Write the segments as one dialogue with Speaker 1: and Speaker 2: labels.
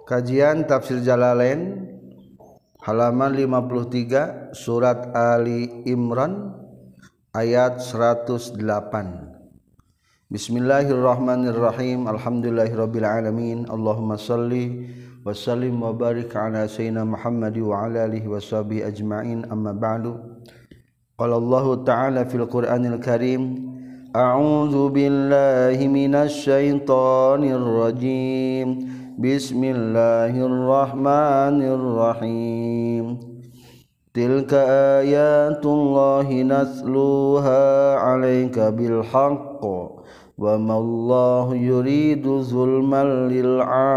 Speaker 1: Kajian Tafsir Jalalain halaman 53 surat Ali Imran ayat 108. Bismillahirrahmanirrahim. Alhamdulillahirabbil alamin. Allahumma shalli wa sallim wa barik ala sayyidina Muhammad wa ala alihi washabihi ajmain. Amma ba'du. Qala Allah ta'ala fil Qur'anil Karim, a'udzu billahi minasy syaithanir rajim. Bismillahirrahmanirrahim. Tilka ayatullahi natluha 'alaika bil haqq wa mallahu yuridu zulman lil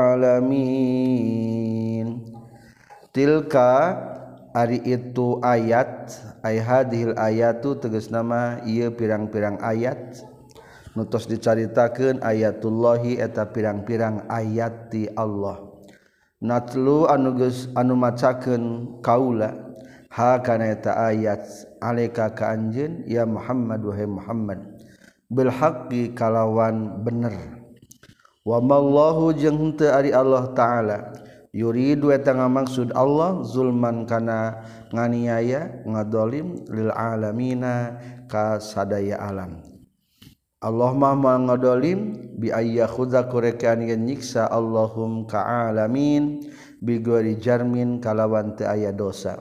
Speaker 1: alamin. Tilka ari itu ayat, ay hadhil ayatu tegasna mah ieu pirang-pirang ayat nutos dicaritakeun ayatullahi eta pirang-pirang ayat ti Allah. Natlu anu geus anu macakeun kaula ha kana eta ayat alaika ka anjeun ya Muhammad wahai Muhammad bil haqqi kalawan bener. Wa mallahu jeung henteu ari Allah taala yuridu eta ngamaksud Allah zulman kana nganiaya ngadolim lil alamina ka sadaya alam. Allah mah ngadolim bi ayyakhudha kurekan nyiksa Allahum ka alamin bi ghairi jarmin kalawan teu aya dosa.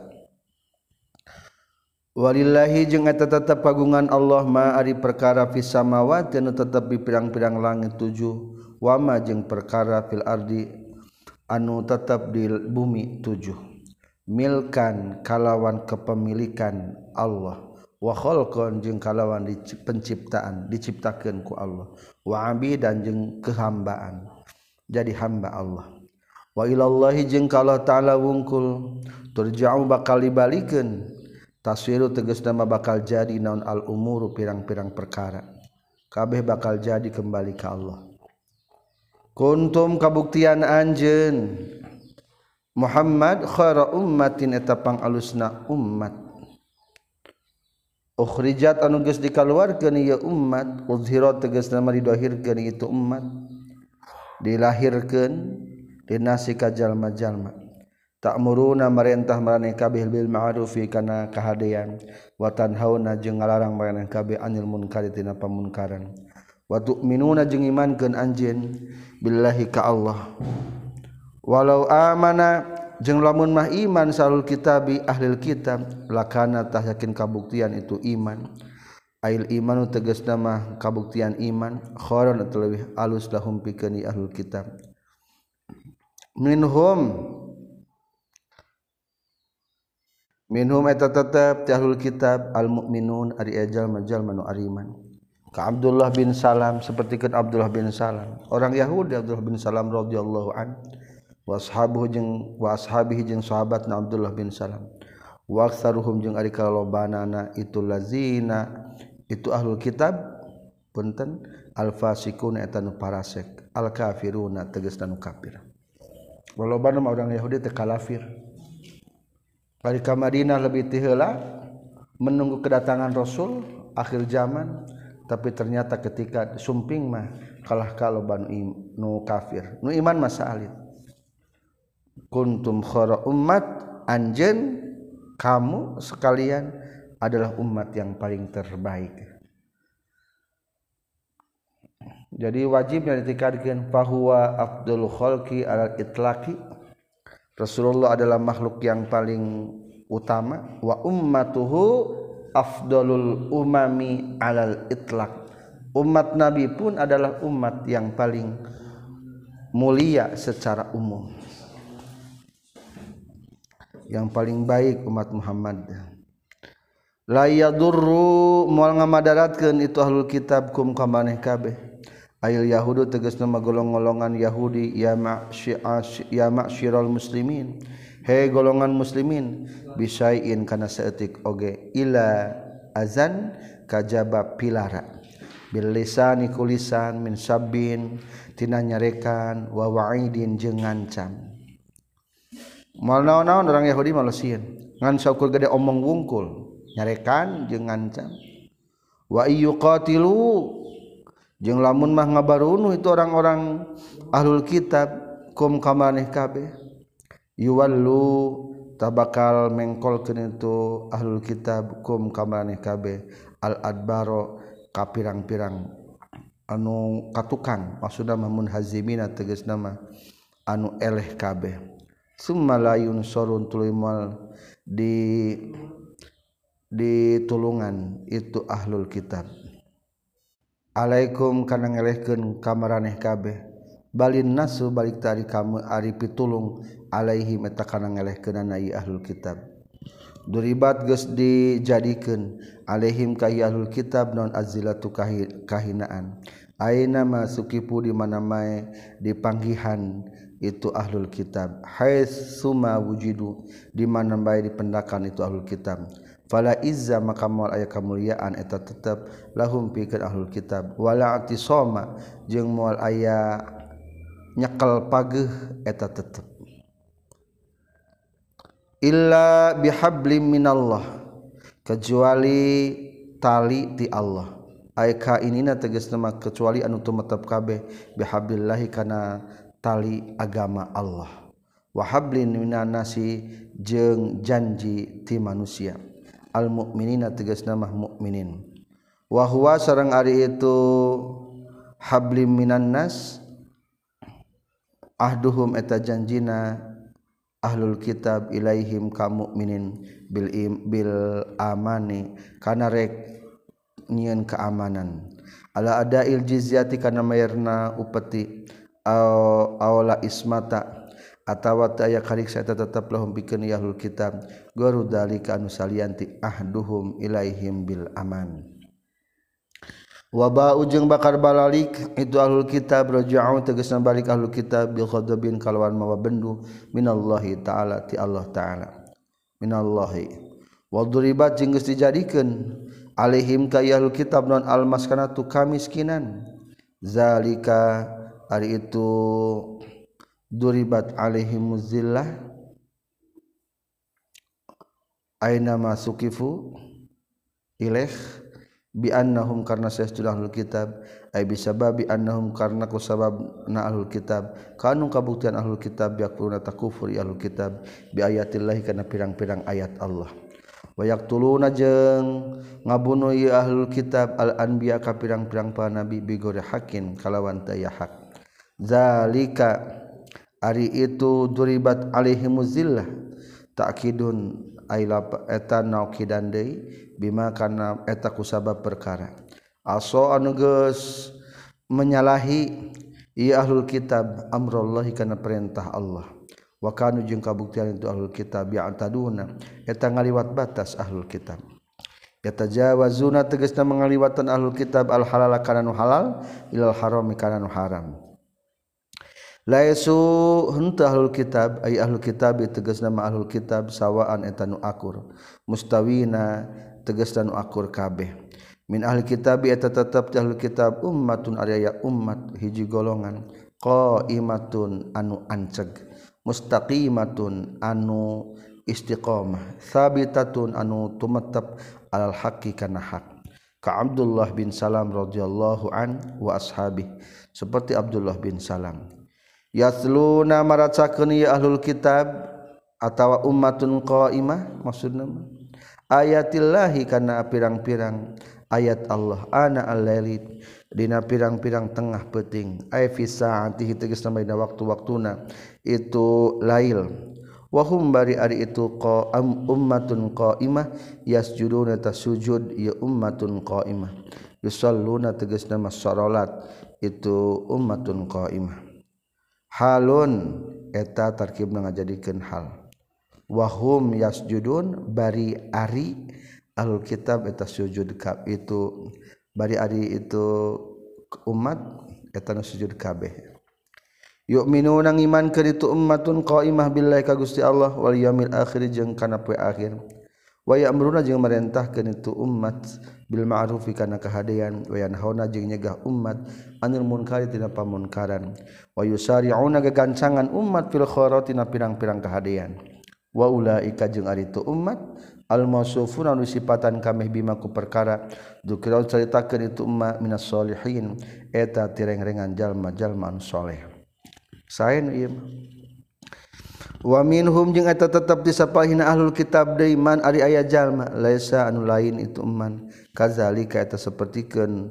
Speaker 1: Walillahi jeung eta tetep kagungan Allah ma ari perkara fis samawati anu tetep di pirang-pirang langit 7 wa ma jeung perkara fil ardi anu tetep di bumi 7 milkan kalawan kepemilikan Allah wa khalqan jeung kalawan penciptaan diciptakeun ku Allah wa abidan jeung kehambaan jadi hamba Allah wa ilallahi jeung ka Allah taala wungkul turja'u bakal dibalikeun taswiru tegasna bakal jadi naon al umuru pirang-pirang perkara kabeh bakal jadi kembali ka Allah. Kuntum kabuktian anjeun Muhammad khaira ummatin eta pangalusna ummat ukhrijat anu geus dikaluarkeun ieu ummat uzhira tegasna mah didahirkeun itu ummat dilahirkeun dinasi ka jalma-jalma ta'muruna marentah maraneh kabeh bil ma'rufi kana kahadean wa tanhauna jeung ngalarang maraneh kabeh anil munkari tina pamunkaran wa tu'minuna jeung imankeun anjeun billahi ka Allah walau amana jeung lamun mah iman salul kitabi ahlil kitab lakana tah yakin kabuktian itu iman ail imanu tegasna mah kabuktian iman khairan atau leuwih alus lahum pikeun ahlul kitab minhum eta tetep ti ahlul kitab al mukminun ari jalma-jalma nu ariman ka Abdullah bin Salam sapertikeun Abdullah bin Salam orang Yahudi Abdullah bin Salam radhiyallahu an wa ashabihi jeung sahabatna Abdullah bin Salam wa aktsaruhum jeung ari kalobanana itu lazina itu ahlul kitab punten al fasiqun eta nu parasek al kafiruna tegasna nu kafir walobana orang Yahudi teh kafir balik ka Madinah lebih ti heula menunggu kedatangan Rasul akhir zaman tapi ternyata ketika sumping mah kalah kaloban nu kafir nu iman mah saalit. Kuntum khaira ummat anjeun kamu sekalian adalah umat yang paling terbaik. Jadi wajibnya ditikadkeun fahuwa afdalul khalqi alal itlaqi. Rasulullah adalah makhluk yang paling utama wa ummatuhu afdalul umami alal itlaq. Umat Nabi pun adalah umat yang paling mulia secara umum. Yang paling baik umat Muhammad. La yadurru moal ngamadaratkeun itu ahlul kitab kum ka maneh kabeh. Ail yahudu tegasna golong-golongan Yahudi ya ma'syiral muslimin. He golongan muslimin bisain kana saeutik oge ila azan kajaba pilara. Bil lisani kulisan min sabbin tina nyarekan wa wa'idin jeung ngancam. Mal naon-naon orang Yahudi malah sieun ngan saukur gede omong wungkul nyarekan jeung ngancam wa iyyuqatilu jeung lamun mah ngabarunuh itu orang-orang ahlul kitab kum kamaneh kabeh yuwallu tabakal mengkolkeun itu ahlul kitab kum kamaneh kabeh al adbaro ka pirang-pirang anu katukang maksudna mun hazimina tegasna mah anu eleh kabeh summa la yunsurun tulimal ditulungan itu ahlul kitab alaikum kana ngelehkeun ka maraneh kabeh balin nasu balik tari kamu ari pitulung alaihim eta kana ngelehkeunana ieu ahlul kitab duribat geus dijadikeun alaihim ka ahlul kitab non azilatu kahinaan aina masukipu di mana mae dipanggihan itu ahlul kitab haitsuma wujidu di mana bae dipendakan itu ahlul kitab fala izza maka moal aya kamuliaan eta tetep lahum pikeun ahlul kitab wala atisoma jeung moal aya nyekel pageuh eta tetep illa bihablim minallah kecuali tali ti Allah ay ka inina tegasna mah kecuali anu tumetep kabeh bihablillahi kana tali agama Allah wa hablin minan nasi jeung janji ti manusia al mukminina tegasna mah mukminin wa huwa sareng ari itu hablim minan nas ahduhum eta janjina ahlul kitab ilaihim ka mukminin bil amani kana rek nyieun keamanan ala adail jizyati kana mayarna upeti awla ismata atawa aya kariksa eta tetep lahum pikeun ahlul kitab garu dalika anu salianti ahduhum ilaihim bil aman wa ba'u jeung bakar balalik itu ahlul kitab raja'u tegasna balik ahlul kitab bil ghadabin kalawan mawa bendu minallahi taala ti Allah taala minallahi wa duribat jeung geus dijadikeun alaihim ka ahlul kitab non al maskanatu kamiskinan zalika ari itu duribat alaihim zillah aina masukifu ilaih bi annahum karna sayastul ahlul kitab ay bisababi annahum karna ku sababna ahlul kitab kanu kabuktian ahlul kitab yaquluna takufur ahlul kitab bi ayatillahi kana pirang-pirang ayat Allah wa yaqtuluna jeung ngabunuh ieu ahlul kitab al anbiya ka pirang-pirang para nabi bi ghairi haqqin kalawan teu hak zalika ari itu duribat alaihimuz zillah ta'kidun ailap eta naukidan deui bima kana eta kusabab perkara aso anu geus menyalahi ieu ahlul kitab amrullahi kana perintah Allah wa kanu jeung kabuktian itu ahlul kitab ya'taduna eta ngaliwat batas ahlul kitab yatajawazuna tegasna mangaliwatan ahlul kitab al halal kana nu halal ilal haram kana nu haram laisu henteu ahlul kitab ay ahlul kitab tegasna ma ahlul kitab sawaan eta nu akur mustawina tegasna nu akur kabeh min ahli kitab eta tetep ti ahlul kitab ummatun araya ummat hiji golongan qaimatun anu anceg mustaqimatun anu istiqamah sabitatun anu tumetep alal haqqi kana hak ka Abdullah bin Salam radhiyallahu an wa ashabi seperti Abdullah bin Salam yasluna maracakeun ya ahlul kitab atawa ummatun qaimah maksudna ayatillahi kana pirang-pirang ayat Allah ana al-laili dina pirang-pirang tengah peuting ay fi saatihi tegasna dina waktu-waktuna itu lail wa hum bari ari itu ummatun qaimah yasjuduna tasujud ya ummatun qaimah yusalluna tegasna salat itu ummatun qaimah halun eta tarkibna ngajadikeun hal wahum yasjudun bari ari ahlul kitab eta sujud ka itu bari ari itu umat eta sujud kabeh yu'minuna ngimankeun itu ummatun qaimah billahi ka Gusti Allah wal yaumil akhir jeung kana poe akhir wa ya'muruna jeung merentahkeun itu umat bil ma'rufi kana kahadean wa yanhauna jeung nyegah umat anil munkari tina pamunkaran wa yusari'una gagancangan umat fil khairati na pirang-pirang kahadean wa ulaika jeung ari tu umat al mausufuna nu sifatan kameh bima ku perkara dzikra caritakeun itu umat minas solihin eta tireng-rengan jalma-jalma anu saleh saen ieu mah wa minhum jeung eta tetep disapahina ahlul kitab deui man ari aya jalma laisa anu lain itu man kazalika eta sapertikeun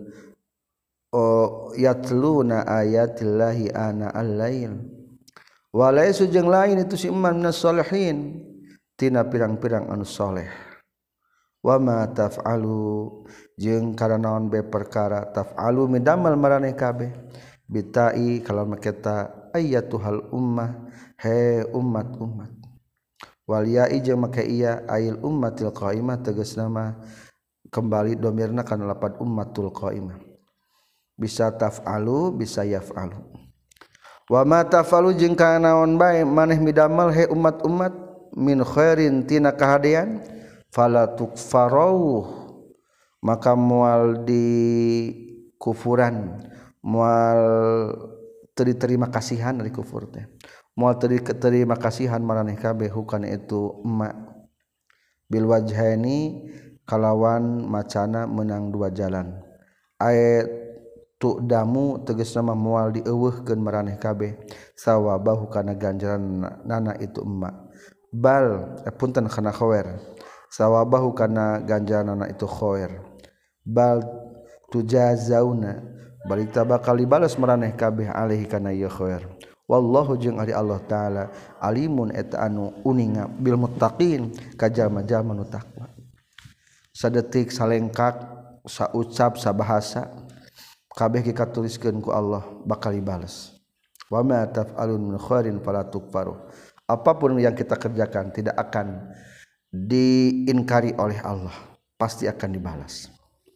Speaker 1: yatluna ayatillahi ana al-lail wa laisu jeung lain itu si man minas sholihin tina pirang-pirang anu soleh wa ma taf'alu jeung kana naon bae perkara taf'alu midamal maraneh kabeh bitai kalau maketa ayatuhal ummah he umat wal ya'i jeung make iya ail ummatil qaimah tegasna mah kembali domirna kana lapad ummatul qaimah bisa taf'alu bisa yaf'alu wa ma taf'alu jeung kana naon bae maneh midamel he umat-umat min khairin tina kahadean fala tukfaru maka moal di kufuran moal terima kasihan dari kufur teh moal terima kasihan maraneh kabeh hukana itu emak bil wajhaini kalawan macana menang dua jalan ayat tu damu tegasna mah moal dieuweuhkeun maraneh kabeh sawabahu kana ganjaran nana itu emak bal punten kana khawer sawabahu kana ganjaran nana itu khawer bal tujazauna balik bakal dibalas maraneh kabeh alaihi kana ieu khair wallahu jeung ari Allah taala alimun eta anu uninga bil muttaqin ka jalma-jalma nu takwa sadetik salengkak saucap sabahasa kabeh dikatuliskeun ku Allah bakal dibalas wa ma taf'alun min khairin fala tukfaru apapun yang kita kerjakan tidak akan diingkari oleh Allah pasti akan dibalas.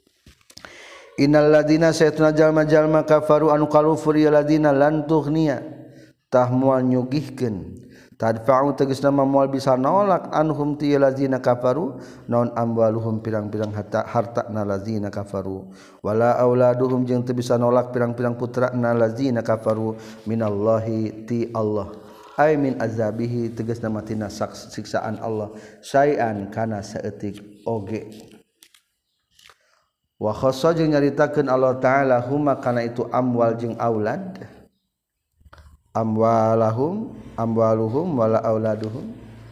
Speaker 1: Innal ladina saytuna jalma-jalma kafaru anu kalufur ya ladina lan tughniya tah moal nyugihkeun tadfa'u tegasna moal bisa nolak anhum ti ladina kafaru naon amwaluhum pirang-pirang harta na ladina kafaru wala auladuhum jeung teu bisa nolak pirang-pirang putra na ladina kafaru minallahi ti Allah ay min azabihi tegasna matina siksaan Allah syai'an kana saeutik oge wa khassa jeung nyaritakeun Allah taala huma kana itu amwal jeung aulad amwaluhum wala auladuhum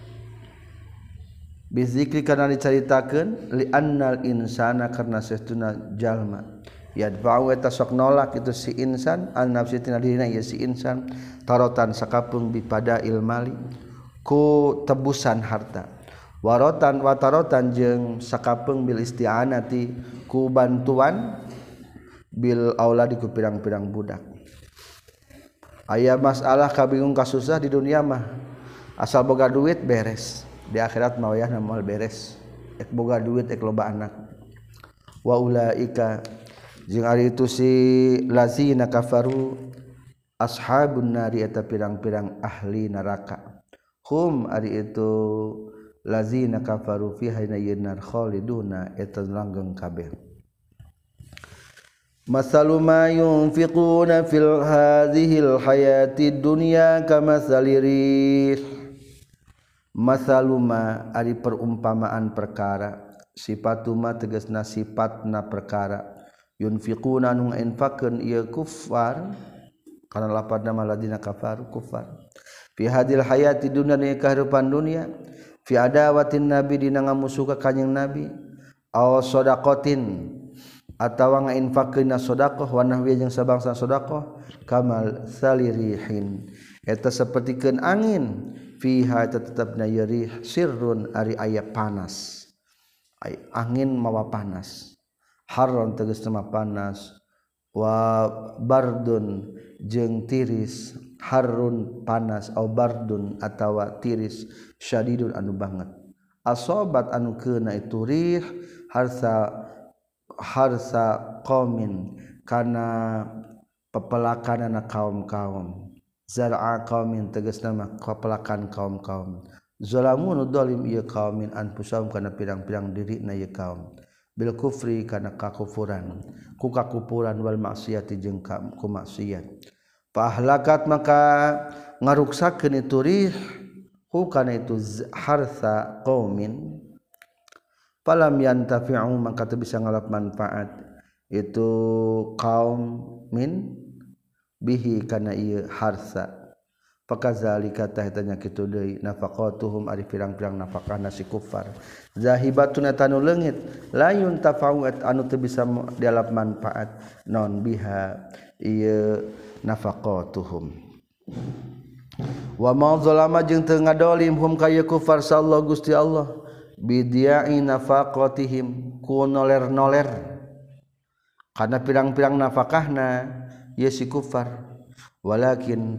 Speaker 1: bizikri kana dicaritakeun li annal insana karna saestuna jalma yadfa'u eta sok nolak itu si insan an nafsi tina dirina ieu si insan tarotan sakapeung bipada ilmali ku tebusan harta warotan watarotan jeung sakapeung bil isti'anati ku bantuan bil auladi ku pirang-pirang budak aya masalah kabingung kasusah di dunia mah asal boga duit beres di akhirat mah wayahna moal beres ek boga duit ek loba anak wa ulaika jeung ari itu si lazina kafaru ashabun nari eta pirang-pirang ahli neraka hum ari itu lazina kafaru fiha nar khaliduna eta langgeng kabeh masalu ma yunfiquna fil hadhil hayatid dunya kamasalirih masalu ma ari perumpamaan perkara sifatuma tegasna sifatna perkara yunfiquna nu infaqkeun ieu kuffar kana lapadna maladina kafaru kuffar fi hadhil hayatid dunya ni kahirupan dunia fi adawatin nabi dina ngamusuh ka kanjing nabi aw shadaqatin atawa ngainfaqkeun shadaqah wa nahwi jeung sabangsa shadaqah kamal salirihin eta sapertikeun angin fiha tetepna yarih sirrun ari aya panas ay angin mawa panas harron tegasna panas wa bardun jeung tiris harun panas au bardun atawa tiris syadidun anu banget asobat anu keuna itu rih harsa qaumin kana pepelakanana kaum-kaum zar'a qaumin tegasna mah pepelakan kaum-kaum zalamun zalim ieu qaumin anfusahum kana pirang-pirang dirina ieu kaum bil kufri kana kakufuran ku kakupuran wal maksiati jeung ku maksiat fahlakat maka ngaruksakeun itu rih hukana itu harsa qaumin falam yantafi'u maka teu bisa ngalap manfaat itu kaum min bihi kana ieu harsa fakazalika tahitanya kitu deui nafaqatuhum ari pirang-pirang nafakahna si kufar zahibatun tanu leungit layun tafawat anu teu bisa dialap manfaat non biha ieu nafaqatuhum wa ma zalama jeung teu ngadolim hum ka kufar sallallahu Gusti Allah bidiai nafaqatihim ku noler-noler kana pirang-pirang nafakahna ieu si kufar walakin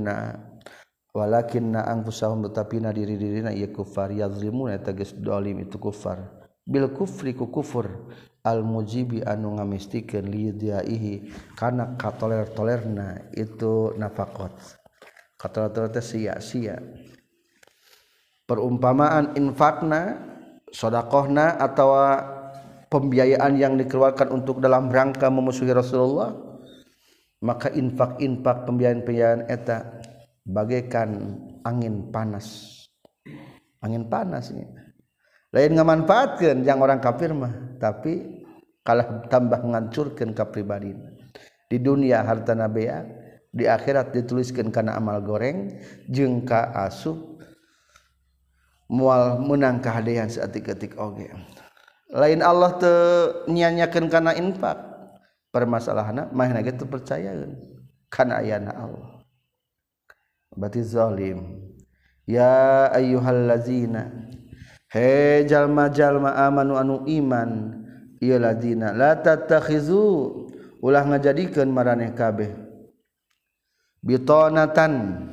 Speaker 1: anfusahum tetapina diri-dirina ieu kufar yazlimuna eta geus dolim itu kufar bil kufri ku kufur al mujibi anu ngamistikeun li diaihi kana katoler-tolerna itu nafaqat katoler teh sia-sia perumpamaan infakna sedekahna atawa pembiayaan yang dikeluarkan untuk dalam rangka memusuhi Rasulullah maka infak pembiayaan eta bagaikan angin panas nya. Lain ngamanfaatkeun yang orang kafir mah tapi kalah tambah ngancurkeun ka pribadina di dunia hartana bea di akhirat dituliskeun kana amal goreng jeung ka asup moal meunang kahadean saeutik-eutik oge lain Allah teu nyanyakeun kana infak permasalahanna mahna ge teu percayaeun kana ayana Allah berarti zalim ya ayyuhallazina he jalma-jalma amanu anu iman ieu ladina la tattakhizu ulah ngajadikeun maraneh kabeh bitonatan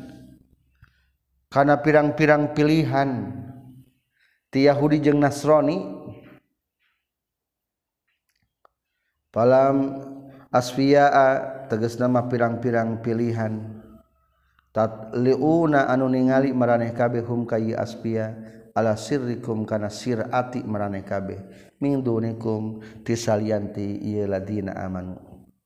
Speaker 1: kana pirang-pirang pilihan ti Yahudi jeung Nasrani palam asfiyaa tegas nama pirang-pirang pilihan tatliuna anu ningali maraneh kabeh hum kayi asfiya ala sirrikum kana sirati maraneh kabeh min dunikum tisalianti ieu ladina amanu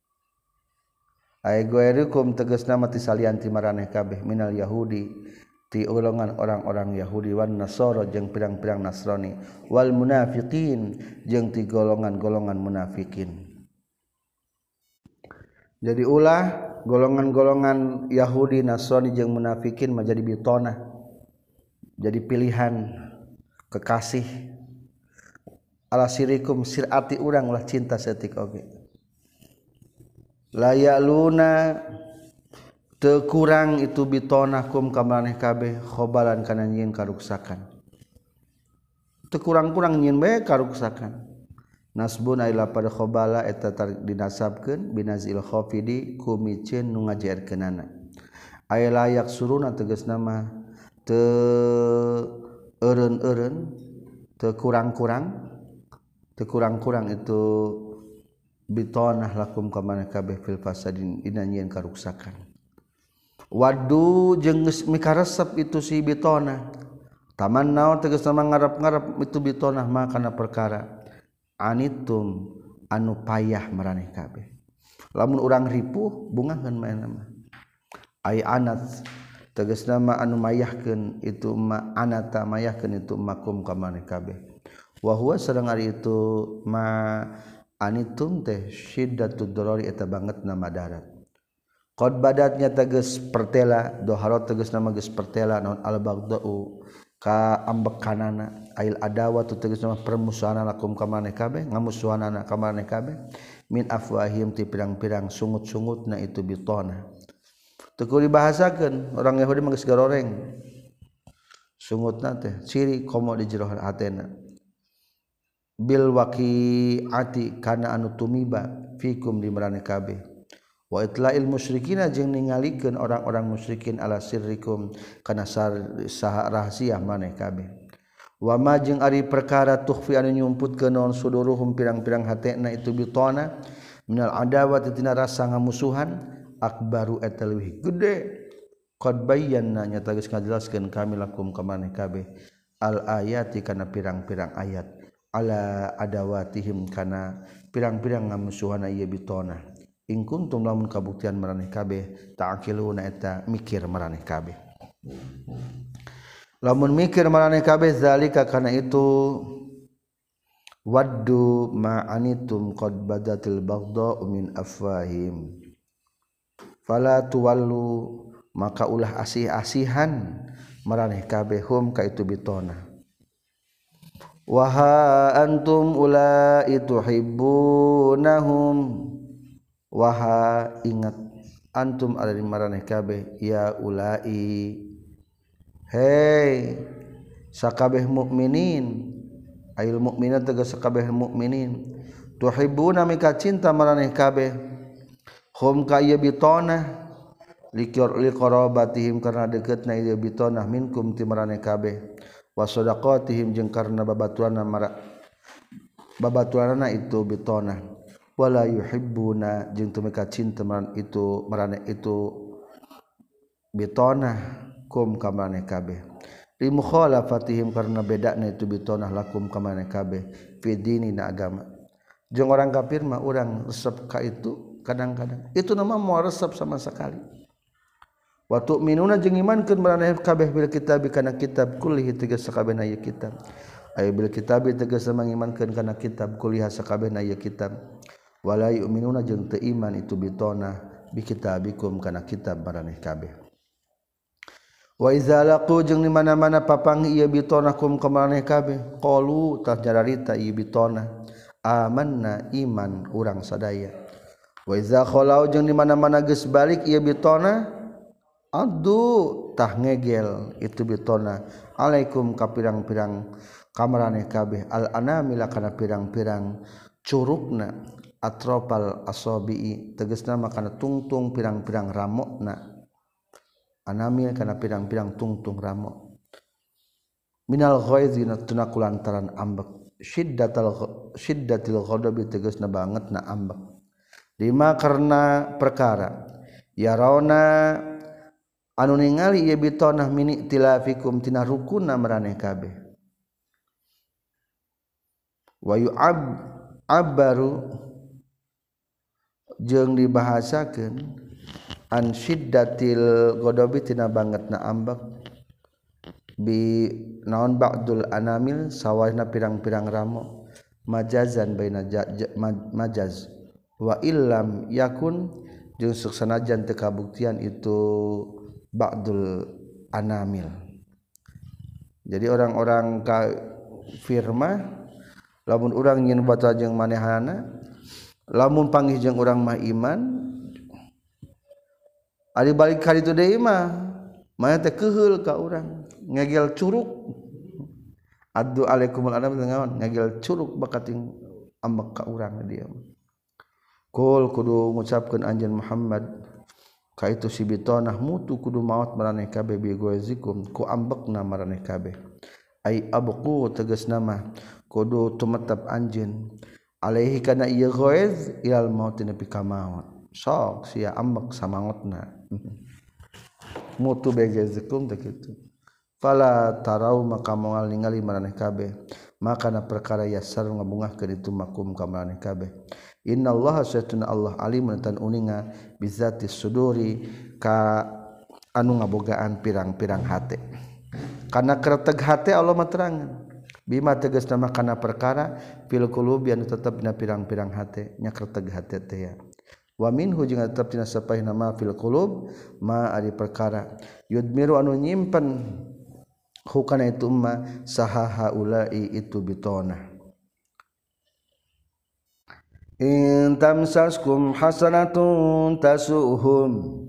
Speaker 1: ay goerikum tegas nama tisalianti maraneh kabeh minal yahudi ti golongan orang-orang Yahudi wan Nasara jeung pirang-pirang Nasrani wal munafiqin jeung ti golongan-golongan munafikin. Jadi ulah golongan-golongan Yahudi, Nasrani jeung munafikin menjadi bitona, jadi pilihan kekasih. Ala sirikum sirati urang ulah cinta setik oge. Layaluna teu kurang itu bitona kum ka maneh kabeh khobalan kana nyieun karuksakan. Teu kurang-kurang nyieun bae karuksakan. Nasbun ila pada khobala eta dinasabkeun binazil khafidi ku miceun nu ngajaerkeunana ay layak suruna tegasna mah teu eureun-eureun teu kurang-kurang itu bitonah lakum ka maneh kabeh fil fasadin dina nyieun karuksakan wadu jeung geus mikaresep itu si bitona taman naon tegasna ngarep-ngarep itu bitonah mah kana perkara anitum anu payah maraneh kabeh lamun urang ripuh bungaheun mah ay anat tegasna mah anu mayahkeun itu ma anata mayahkeun itu makum ka maneh kabeh wa huwa sareng ari itu ma anitum teh syiddatud darari eta bangetna madarat qad badatnya tegas pertela doharat tegasna mah geus pertela naon al baghdau ka ambekanana ail adawa tu tegasna permusuhan lakum ka maneh kabeh ngamusuhanana ka maneh kabeh min afwahim ti pirang-pirang sungut-sungutna itu bitona teu kudu dibahasakeun orang Yahudi mah geus garoreng sungutna teh ciri komo di jero hatena bil waqiati kana anu tumiba fikum di maraneh kabeh wa itla'il musyrikina jeung ningalikeun orang-orang musyrikin ala sirrikum kana saha rahasia maneh kabeh wa ma jeung ari perkara tukhfi anu nyumputkeun naon suduruhum pirang-pirang hatena itu bitona minal adawati tina rasa ngamusuhan akbaru eta leuwih gede qad bayyana nyata geus ngajelaskeun kami lakum ka maneh kabeh al ayati kana pirang-pirang ayat ala adawatihim kana pirang-pirang ngamusuhan ieu bitona in kuntum lamun kabuktian maraneh kabeh ta'qiluna eta mikir maraneh kabeh lamun mikir maraneh kabeh zalika kana itu waddu ma anitum qad badatil baghdha min afwahim fala tuwallu maka ulah asih-asihan maraneh kabeh hum ka itu bitona. Waha antum ulai tuhibbunahum, waha ingat antum ada di maraneh kabeh ya ulai hei sakabeh mukminin ail mukminat tegas sakabeh mukminin tuhibbuna mika cinta maraneh kabeh hum ka ieu bitona liqarabatihim karena deketna ieu bitona minkum ti maraneh kabeh wa sadaqatihim jeung karna babaturanna itu bitona wala yuhibbuna jeung teu mika cinta maraneh itu bitona kum ka maraneh kabeh li mukhalafatihim karna bedana itu bitona lakum ka maraneh kabeh fi dinina agama jeung orang kafir mah urang resep ka itu kadang-kadang itu nama moal resep sama sekali. Wa tu'minuna jeung imankeun maraneh kabeh bil kitab kana kitab kullihi tegas sakabehna ieu kitab aya bil kitab tegas mangimankeun kana kitab kulliha sakabehna ieu kitab wala yu'minuna jeung teu iman itu bitona bi kitabikum kana kitab maraneh kabeh. Wa iza laqu jeung di mana-mana papangih ieu bitona kum ka maraneh kabeh qalu tah jararita ieu bitona amanna iman urang sadaya. Wa iza khalau jeung di mana-mana geus balik ieu bitona adu tah ngegel itu bitona alaikum ka pirang-pirang kamaraneh kabeh al anamila kana pirang-pirang curugna atrofal asabi'i tegasna makana tungtung pirang-pirang ramokna anamil kana pirang-pirang tungtung ramok minal ghaizi tuna kulantaran ambek syiddatil ghadabi tegasna bangetna ambek lima karena perkara ya rauna anu ningali ieu bitonah min iktilafikum tina rukunna maraneh kabeh wa yu'abbaru jeung dibahasakeun an syiddatil ghadabi tina bangetna ambek bi naon ba'dul anamil sawahna pirang-pirang ramo majazan baina majaz wa illam yakun jeung sanajan teu kabuktian itu ba'dul anamil. Jadi orang-orang kafir mah lamun urang nyin baca jeung manehana lamun panggih jeung urang mah iman ari balik ka ditu deui mah maya teh keheul ka urang ngegel curug addu alaikumul anam ngaon ngegel curug bakating ambek ka urang dia kul kudu ngucapkeun anjeun Muhammad ka itu si bitonah mutu kudu maot maraneh kabeh bi gozikum ku ambekna maraneh kabeh ai abqu tegasna mah kudu tumetep anjeun alaihi kana ieu goez ilal maut nepi ka maut sok sia ambek samangotna mutu begezikum teh kitu fala tarau maka moal ningali maraneh kabeh maka na perkara yasar ngabungahkeun itu makum ka maraneh kabeh innallaha satuna Allah alimun tan uninga bizatis suduri ka anu ngabogaan pirang-pirang hate kana kereteg hate Allah mah terangan bima tegasna mah kana perkara fil qulubi anu tetep dina pirang-pirang hate nya kereteg hate teh ya wa minhu jeung tetep dina sapaehna ma fil qulub ma ari perkara yudmiru anu nyimpen hukana itu ma sahaha ulai itu bitona in tamsaskum hasanatun tasuhum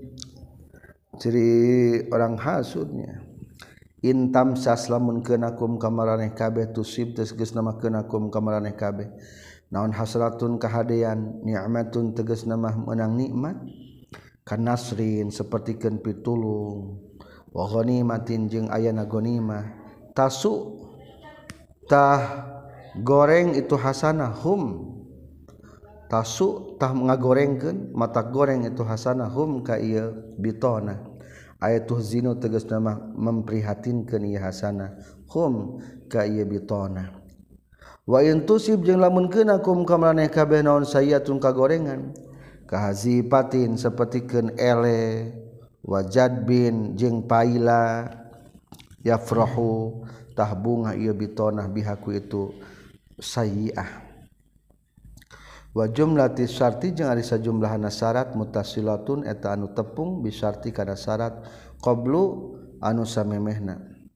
Speaker 1: ciri orang hasudnya in tamsas lamun keunakum kamaraneh kabeh tusib tegas nama keunakum kamaraneh kabeh naon hasanatun kahadean nikmatun tegas nama menang nikmat kanasrin sapertikeun pitulung wa ghanimatin jeung ayana ghanimah tasu tah goreng itu hasanah hum tasu tah ngagorengkeun mata goreng itu hasanah hum ka ieu bitona ayatuh zinu tegasna mah memprihatinkeun ieu hasanah hum ka ieu bitona wa in tusib jeung lamun keunakum ka maraneh kabeh naon sayatun kagorengan kahazipatin sapertikeun ele wajadbin jeung paila yafrahu tah bunga ieu bitona bihaku itu sayyi'ah wa jumlati syarti jeung ari sajumlahna syarat mutasilatun eta anu tepung bisyarti kana syarat qablu anu samemehna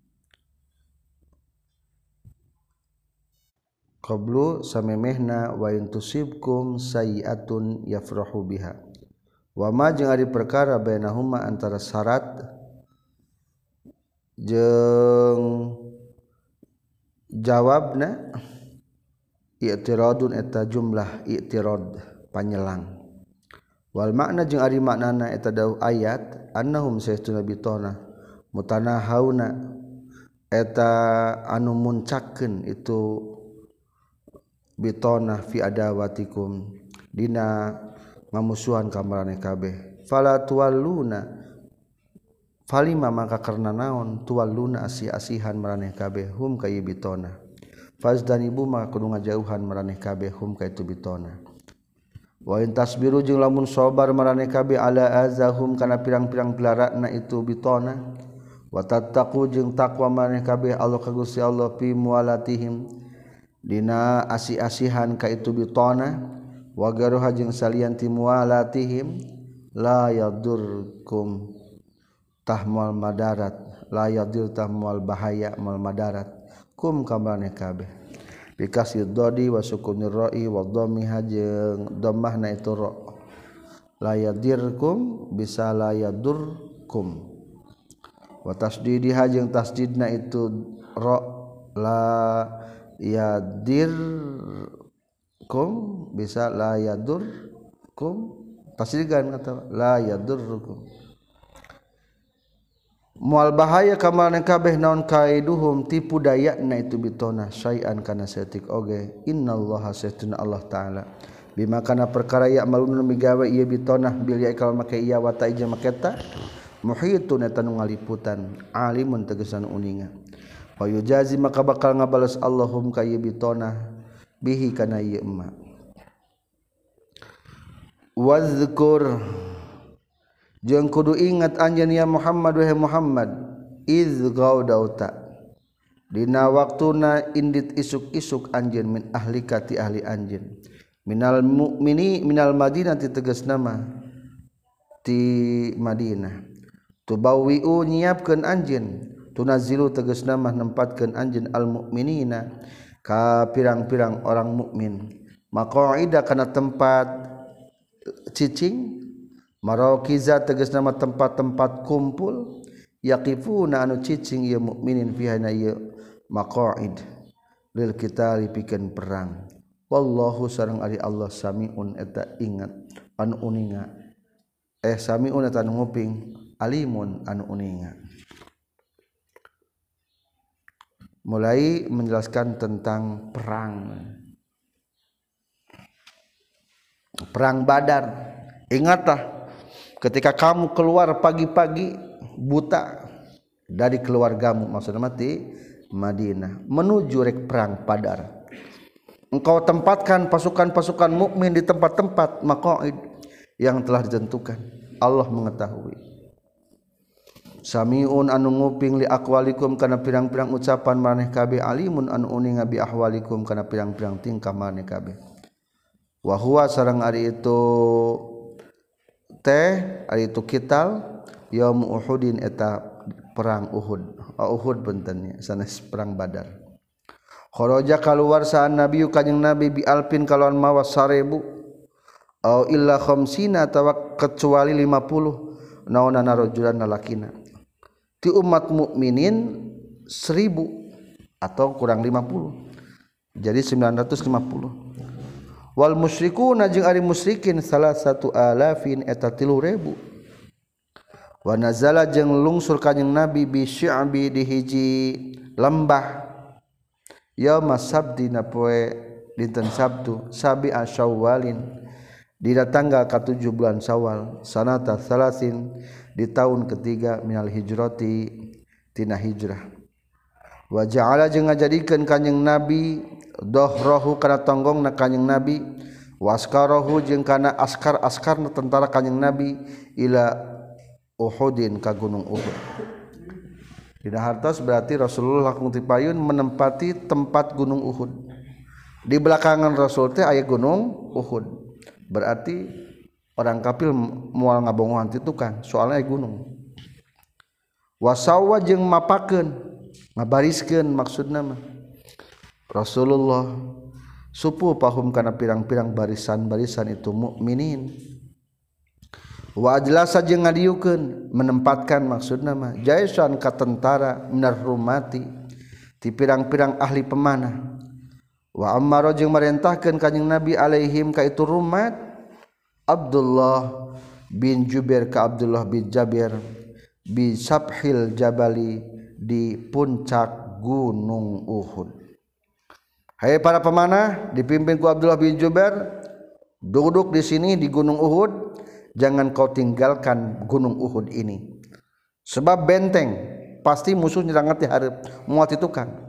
Speaker 1: qablu samemehna wa intusibkum sayiatun yafrahu biha wa ma jeung ari perkara bainahuma antara syarat jeung jawabna i'tiradun eta jumlah i'tirad panyelang wal makna jeung ari maknana eta dawuh ayat annahum saytuna bitona mutanahauna eta anu muncakeun itu bitona fi adawatikum dina ngamusuhan ka maraneh kabeh fala tuwalluna falima maka karena naon tuwalluna asi-asihan maraneh kabeh hum ka bitona fazdanibu maka kudu ngajauhan maraneh kabeh hum ka itu bitona wa in tasbiru jeung lamun sabar maraneh kabeh ala azahum kana pirang-pirang pilarana itu bitona wa tattaqu jeung takwa maraneh kabeh Allah ka Gusti Allah fi mualatihim dina asi-asihan ka itu bitona wa garuha jeung salianti mualatihim la yadurkum tahmal madarat la yadir tahmal bahaya mal madarat kum kamane kabeh bikasir dodi wa sukunir ra'i wa dhammiha jeung dhammahna itu ra la yadirkum bisa la yadurkum wa tasdidiha jeung tasdidna itu ra la yadirkum bisa la yadurkum tasdigan kata la yadurkum mual bahaya kamarna kabeh naon kaiduhum tipu dayana itu bitona syai'an kana saeutik oge innallaha sayyidina Allah taala bima kana perkara ya malun migawe ieu bitona bil ya kal make iya wa ta ija maketa muhitun eta nu ngaliputan alimun tegesan uninga wa yujazi maka bakal ngabales Allahum ka ieu bitona bihi kana ieu emma wazkur jeung kudu ingat anjeun ya Muhammad wahai Muhammad iz gaudauta dina waktuna indit isuk-isuk anjeun min ahlika ti ahli anjeun minal mu'mini minal Madinah ti tegasna mah ti Madinah tubawwi'u nyiapkeun anjeun tunazilu tegasna mah nempatkeun anjeun al mu'minina ka pirang-pirang orang mukmin maqaida kana tempat cicing maraqiza tegasna mah tempat-tempat kumpul yaqifuna anu cicing ieu mukminin fiha na ieu maqaid lil qitali pikeun perang wallahu sareng ari Allah samiun eta ingat anu uninga samiun eta anu nguping alimun anu uninga mulai menjelaskan tentang perang Badar ingatlah ketika kamu keluar pagi-pagi buta dari keluargamu maksudnya mati Madinah menuju rek perang Badar engkau tempatkan pasukan-pasukan mukmin di tempat-tempat maqaid yang telah ditentukan Allah mengetahui samiun anu nguping li aqwalikum kana pirang-pirang ucapan maneh kabeh alimun anu uninga bi ahwalikum kana pirang-pirang tingkah maneh kabeh wa huwa sareng ari itu ari itu kital yaum Uhudin eta perang Uhud bentennya sanes perang Badar kharaja kaluar saan nabi kanjing nabi bi alpin kalawan mawas 1000 au illa khamsina tawa kecuali 50 naonana rajulan lalakina ti umat mukminin 1000 atau kurang 50 jadi 950 wal musyrikuna jeung ari musyrikin 1,000 eta 3.000 wa nazala jeung lungsur kanjing nabi bi syi'bi di hiji lembah yauma sabdi na poe dinten Sabtu sabi asyawalin di tanggal ke-7 bulan Syawal sanata salasin di tahun ketiga minal hijrati tina hijrah wa ja'ala jeung ngajadikeun kanjing nabi dohrohu kana tonggongna kanjing nabi waskarahu jeung kana askar-askarna tentara kanjing nabi ila Uhudin ka gunung Uhud dina hartos berarti Rasulullah langkung tipayun menempati tempat gunung Uhud Di belakangan Rasul teh aya gunung Uhud. Berarti orang kafir moal ngabongohan ti tukang, soalnya aya gunung. Wasawa jeung mapakeun, ngabariskeun maksudna mah. Rasulullah supu pahum kana pirang-pirang barisan-barisan itu mukminin. Wa ajlasa jeung ngadieukeun, menempatkan maksudna mah jaisan ka tentara minar rumati ti pirang-pirang ahli pemanah. Wa ammara jeung marentahkeun kanjing Nabi alaihim ka itu rumat Abdullah bin Jubair ka Abdullah bin Jabir bi sabhil jabali di puncak gunung Uhud. Hai para pemanah dipimpin ku Abdullah bin Jubair, duduk di sini di gunung Uhud, jangan kau tinggalkan gunung Uhud ini. Sebab benteng, pasti musuh nyerang ti hareup moal ti tukang.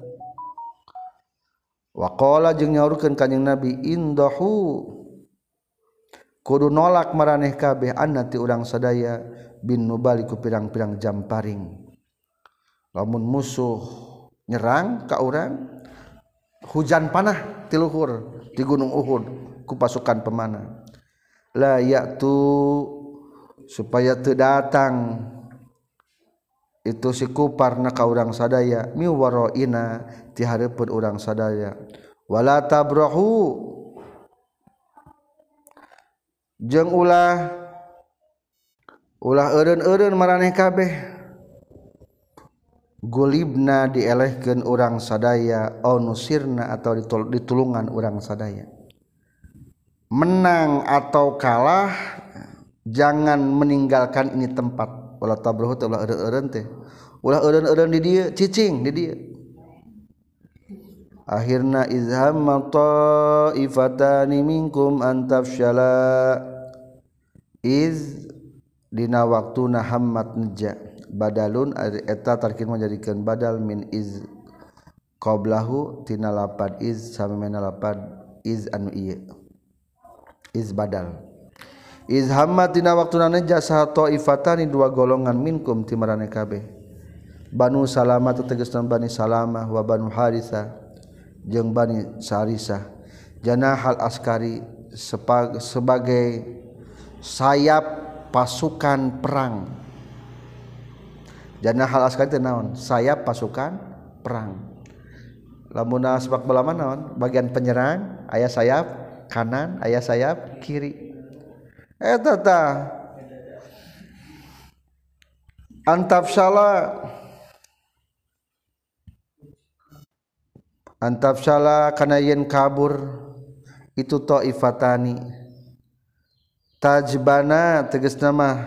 Speaker 1: Wa qala jeung nyaurkeun kanjing Nabi indahu kudu nolak maraneh kabeh annati urang sadaya bin nubali ku pirang-pirang jamparing. Lamun musuh nyerang ka urang hujan panah ti luhur di gunung Uhud ku pasukan pemanah. La ya'tu supaya teu datang itu si kuparna ka urang sadaya mi waraina ti hareupeun urang sadaya wala tabrahu jeung ulah eureun-eureun maraneh kabeh gulibna dielehkeun urang sadaya au nusirna atau ditulungan urang sadaya. Menang atau kalah jangan meninggalkan ini tempat. Wala tabrahu teh ulah eureun-eureun teh. Ulah eureun-eureun di dieu cicing di dieu. Akhirna izhamma ta'ifatani minkum an tafshala iz dina waktuna hammat nija badalun eta tarkin menjadikan badal min iz qablahu tina lapad iz samemena lapad iz anu ieu iz badal iz hammat tina waktuna nija saha ta'ifatani dua golongan minkum ti maraneh kabeh Banu Salamah tegasna Bani Salamah wa Banu Haritsah jeung Bani Sarisah janahal askari sebagai sayap pasukan perang. Janahal askari teh naon? Sayap pasukan perang. Lamun sepak bola mah naon? Bagian penyerang aya sayap kanan, aya sayap kiri. Eta tah antafsala kana yen kabur itu taifatani tajbana tegasna mah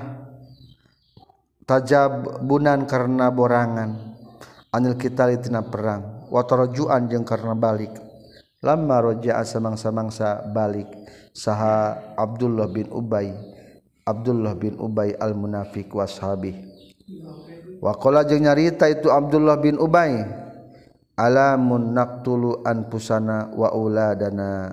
Speaker 1: tajabunan karena borangan anil kita tina perang wa tarajuan jeung karena balik lamma raja'a samangsa balik saha Abdullah bin Ubay al munafiq washabi wa qala jeung nyarita itu Abdullah bin Ubay alamun naqtulu anfusana wa auladana.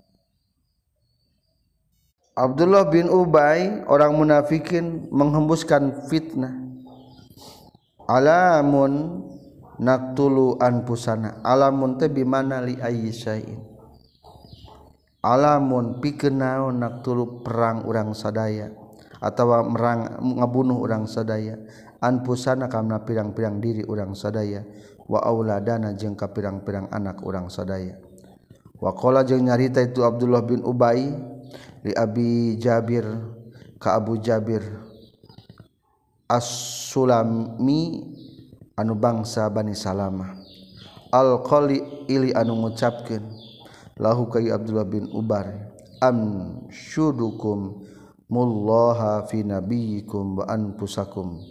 Speaker 1: Abdullah bin Ubay orang munafikin menghembuskan fitnah. Alamun naqtulu anfusana. Alamun teh bimana li ayyisain. Alamun pikeun naon naqtulu perang urang sadaya atawa merang ngabunuh urang sadaya anfusana kana pirang-pirang diri urang sadaya wa auladana jeung ka pirang-pirang anak urang sadaya. Wa qala jeung nyarita itu Abdullah bin Ubay li Abi Jabir ka Abu Jabir As-Sulami anu bangsa Bani Salamah al-qali ili anu ngucapkeun lahu ka Abdullah bin Ubay am syudukum mullaha fi nabiyyikum wa anfusakum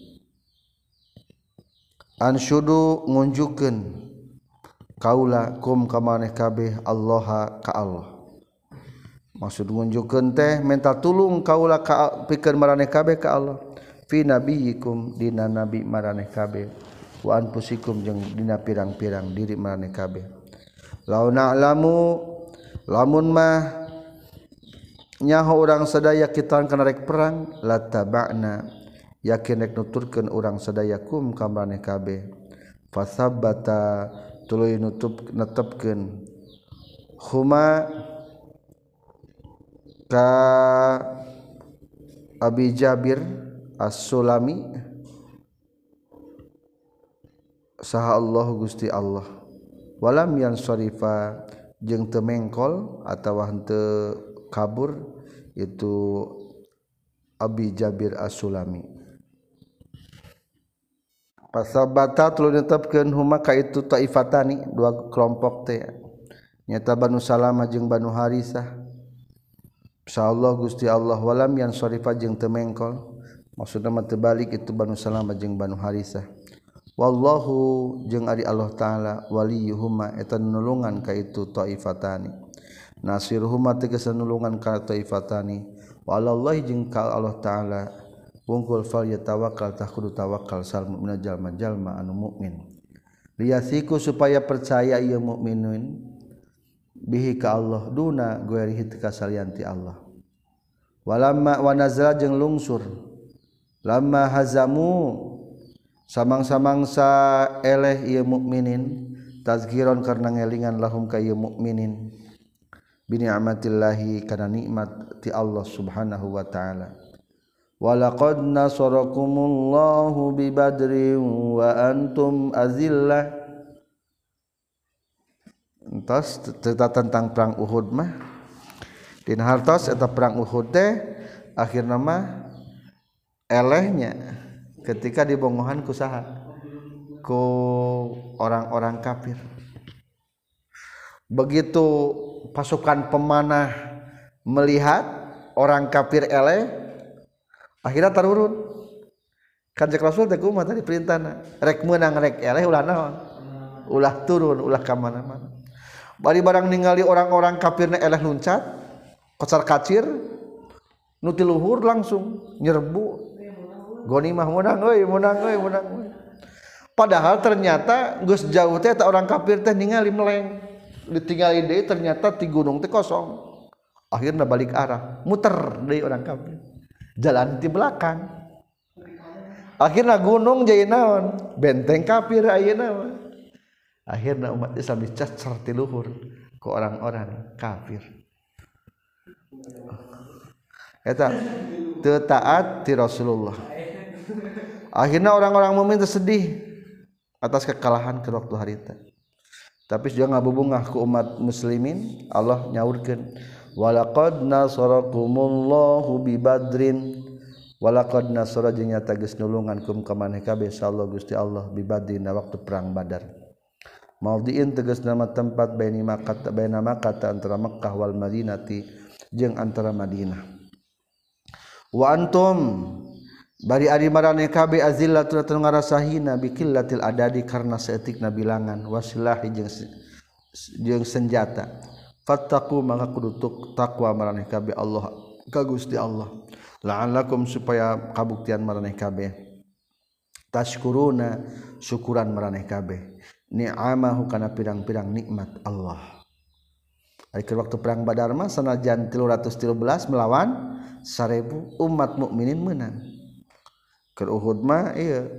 Speaker 1: ansyudu ngunjukeun kaula kum ka maneh kabeh Allah ka Allah. Maksud ngunjukeun teh minta tulung kaula ka pikeun maraneh kabeh ka Allah fi nabiyyikum dina nabi maraneh kabeh wa anfusikum jeung dina pirang-pirang diri maraneh kabeh. Launa alamu lamun mah nyaho urang sadaya kita kana rek perang la taba'na yakin rek nuturkeun urang sadaya kum ka maneh kabeh fasabbata tuluy netepkeun huma ka Abi Jabir As-Sulami saha Allah Gusti Allah walam yansarifa jeung teu mengkol atawa henteu kabur itu Abi Jabir As-Sulami pasabata tuluy netepkeun huma ka itu taifatani dua kelompok teh nyata Banu Salamah jeung Banu Harisah insyaallah Gusti Allah walam yansarifa jeung teu mengkol maksudna mah teu balik itu Banu Salamah jeung Banu Harisah wallahu jeung ari Allah taala waliyuhuma eta nulungan ka itu taifatani nasiruhuma tegas nulungan ka taifatani walallahi jeung ka Allah taala wungkul fal yatawakkal tah kudu tawakal sal mukmin jalma-jalma anu mukmin liyasiku supaya percaya ieu mukminun bihi ka Allah duna guerihi teu kasalianti Allah walamma wa nazala jeung lungsur lamma hazamu samang-samangsa eleh ieu mukminin tazkiron karna ngelingan lahum ka ieu mukminin bi ni'matillahi kana nikmat ti Allah subhanahu wa ta'ala walaqad nasarakumullahu bi badrin wa antum azillah entos cerita tentang perang Uhud mah dina hartos eta perang Uhud teh akhirna mah elehnya ketika dibongohan ku saha ku orang-orang kafir begitu pasukan pemanah melihat orang kafir eleh akhirnya tarurun kanjeng Rasul teh kumaha tadi perintahna rek meunang rek eleh ulah naon ulah turun ulah ka mana-mana bari barang ningali orang-orang kafirna eleh luncat kocar kacir nu ti luhur langsung nyerbu gonimah menang euy padahal ternyata geus jauh teh eta orang kafir teh ningali meleng ditinggali deui ternyata ti gunung teh kosong akhirna balik arah muter deui orang kafir jalan di belakang akhirna gunung jadi naon benteng kafir ayeuna mah akhirna umat Islam dicacar ti luhur ku orang-orang kafir eta teu taat ti Rasulullah akhirna orang-orang mukmin sedih atas kekalahan ke waktu harita tapi juga ngabubungah ku umat muslimin Allah nyaurkeun walaqad nasarakumullahu bi badrin walaqad nasara jeung nyata geus nulungan kum ka maneh kabeh insyaallah Gusti Allah bi badrin waktu perang Badar maudhi'in tegas nama tempat baina Makkah antara Makkah wal Madinati jeung antara Madinah wa antum bari ari maraneh kabeh azillatun tanu ngarasahina biqillatil adadi karna saeutikna bilangan wasilahi jeung senjata fattaqu maka kudu takwa maraneh kabeh Allah ka Gusti Allah la'allakum supaya kabuktian maraneh kabeh tashkuruna syukuran maraneh kabeh ni'amahu kana pirang-pirang nikmat Allah. Ari waktu perang Badar mah sanajan 313 melawan 1000 umat mukminin meunang. Keur Uhud mah ieu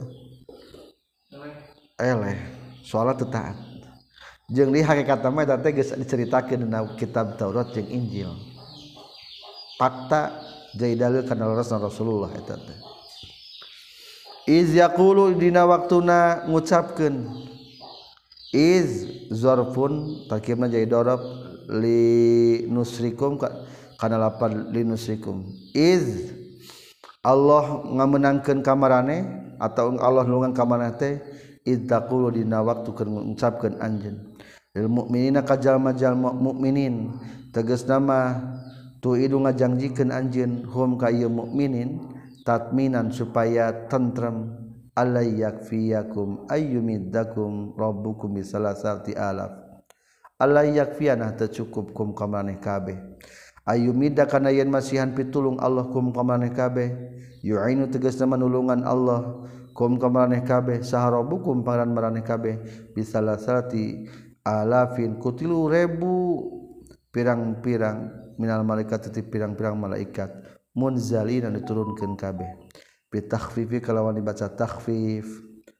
Speaker 1: eleh soalna teu taat. Jeung di hakikatna mah eta teh geus diceritakeun dina kitab Taurat jeung Injil. Fakta jadi dalil kana Rasulullah eta teh. Iz yaqulu dina waktuna ngucapkeun iz zarfun tarkibna jadi darab li nusrikum kana lapan li nusrikum iz Allah ngamenangkeun ka maraneh atau Allah nulungan ka maraneh teh iz taqulu dina waktu keur ngucapkeun anjeun lil mukminina ka jalma-jalma mukminin tegasna mah tuidu ngajangjikeun anjeun hum ka ieu mukminin tatminan supaya tentrem alay yakfiyakum ayyumiddakum rabbukum bisalasati alaf alay yakfiyana teu cukup kum ka maneh kabeh ayyumidda kana yen masihan pitulung Allah kum ka maneh kabeh yu'inu tegasna manulungan Allah kum ka maneh kabeh saha rabbukum pangaran maraneh kabeh bisalasati alafin kutilu ribu pirang-pirang minal malaikat teu pirang-pirang malaikat munzalina diturunkeun kabeh bitakhfifi kalawan dibaca takhfif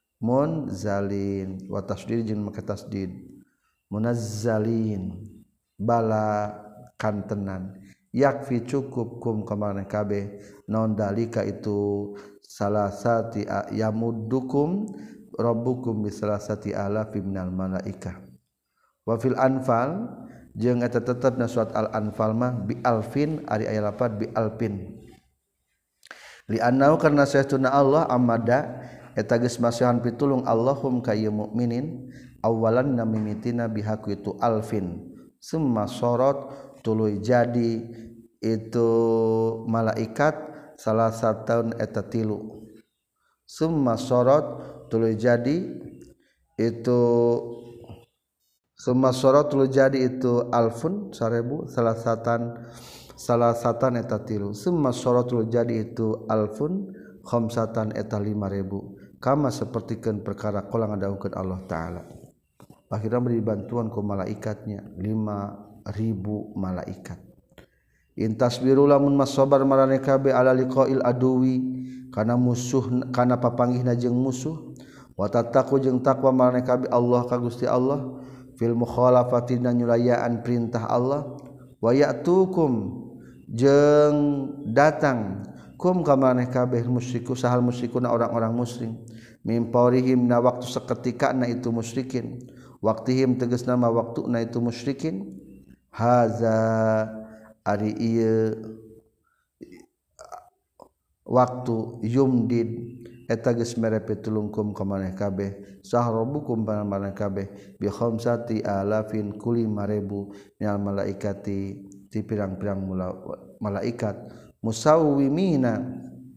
Speaker 1: munzalin wa tasdid jeung make tasdid munazzalin bala kantenan yakfi cukup kum kamareh kabeh non dalika itu salasati yamuddukum rabbukum bisalasati alafi minal malaikah wa fil anfal jeung eta tetepna surat al anfal mah bi alfin ari aya lapat bi alfin li annau karna saestuna Allah amada eta geus masihan pitulung Allahum ka ieu mukminin awalan namimitina bihaku itu alfin summa sorot tuluy jadi itu malaikat salah satu eta tilu summa sorot tuluy jadi itu summa sorot tuluy jadi itu alfun 1000 salah satan eta tilu summa sorot tuluy jadi itu alfun khamsatan eta 5000 kama sapertikeun perkara qala ngadawukeun Allah taala akhirnya beri bantuan ku malaikatnya 5000 malaikat intasbiru lamun masabar marane kabeh ala liqail aduwi kana musuh kana papanggihna jeung musuh wa tattaqu jeung takwa marane kabeh Allah ka Gusti Allah fil mukhalafati nyulayaan perintah Allah wa ya'tukum jeung datang kum ka marane kabeh musyriku sahal musyrikuna orang-orang musyrik mimparihim na waktu seketika na itu musyrikin waktihim tegas nama waktu na itu musyrikin haza ari ieu waktu yumdid eta geus mere pitulungkum ka maneh kabeh sahrobukum maneh kabeh bi khamsati alafin kulli 5000 minal malaikati ti pirang-pirang malaikat musawwimina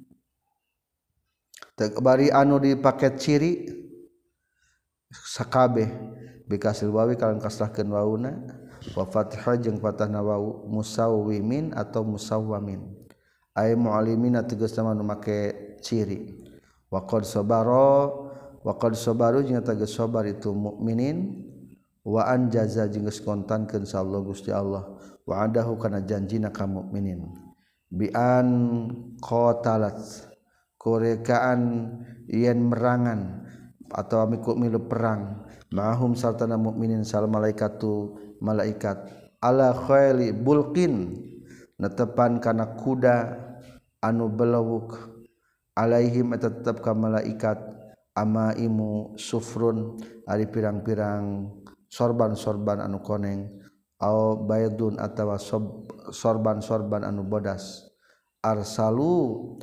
Speaker 1: bari anu dipaket ciri sakabeh bikasil wawi kalian kasrahkeun wauna wa fathah jeung fathahna wawu musawwimin atau musawwamin ay muallimina tegasna nu make ciri wa qad sabaru jeung tegas sabar itu mukminin wa anjaza jeung geus kontankeun insyaallah Gusti Allah wa adahu kana janjina ka mukminin bi an qatalat korekaan yen merangan atau amiku milu perang ma'hum sartana mukminin sal malaikatu malaikat ala khaili bulqin netepan kana kuda anu belewuk alaihim tetep ka malaikat amaimu sufrun ari pirang-pirang sorban-sorban anu koneng au baydun atawa sorban-sorban anu bodas arsalu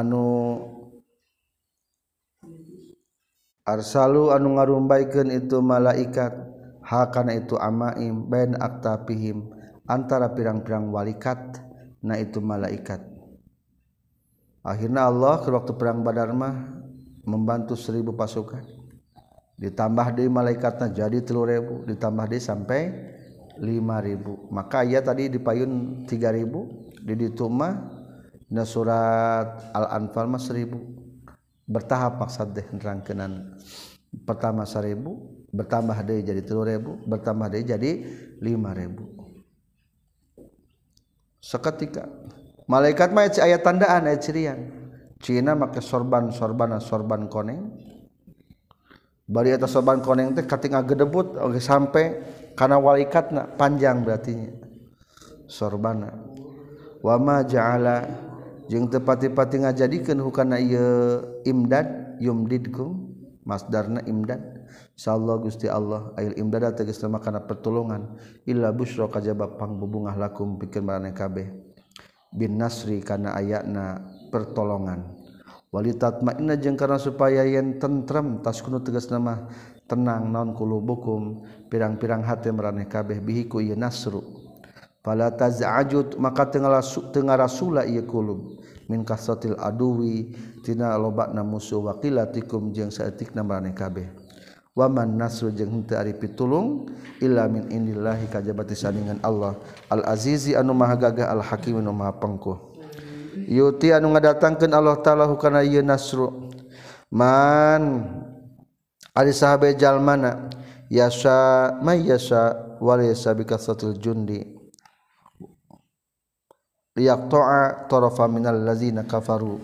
Speaker 1: anu ngarumbaikeun itu malaikat hakana itu amaim bain aktapihim antara pirang-pirang walikat na itu malaikat akhirna Allah ke waktu perang Badar mah membantu 1000 pasukan ditambah deui malaikatna jadi 3000 ditambah deui sampai 5000 maka aya tadi dipayun 3000 di ditu mah na surat Al-Anfal mah 1000 bertahap maksud deh nerangkeunan pertama 1000 bertambah deui jadi 3000 bertambah deui jadi 5000 seketika malaikat mah aya tandaan aya cirian cina make sorban koneng bari eta sorban koneng teh kating ngagedebut oge sampai kana walaikatna panjang berarti sorbana wa ma ja'ala jeung teu pati-pati ngajadikeun hukana ieu imdad yumdidkum masdarna imdad insyaallah Gusti Allah ail imdad tegasna kana pertolongan illa busyra kajaba pangbubungah lakum pikeun maraneh kabeh bin nasri kana ayatna pertolongan walitatmainna jeung kana supaya yen tentrem taskunu tegasna mah tenang naon qulubukum pirang-pirang hate maraneh kabeh bihi ku ieu nasru fala taz'ajut maka teu ngarasula ieu qulub min kasatil aduwi tina lobana musuh waqilatikum jeung saeutikna maraneh kabeh wa man nasru jeung henteu ari pitulung illa min indillahi kajabati saningan Allah al azizi anu maha gagah al hakim anu maha pengkuh yuti anu ngadatangkeun Allah taala hukana ieu nasru man ari sahabe jalmana yasa may yasa wa laysa bikasatil jundi liyaqta'a tarafa minal ladzina kafaru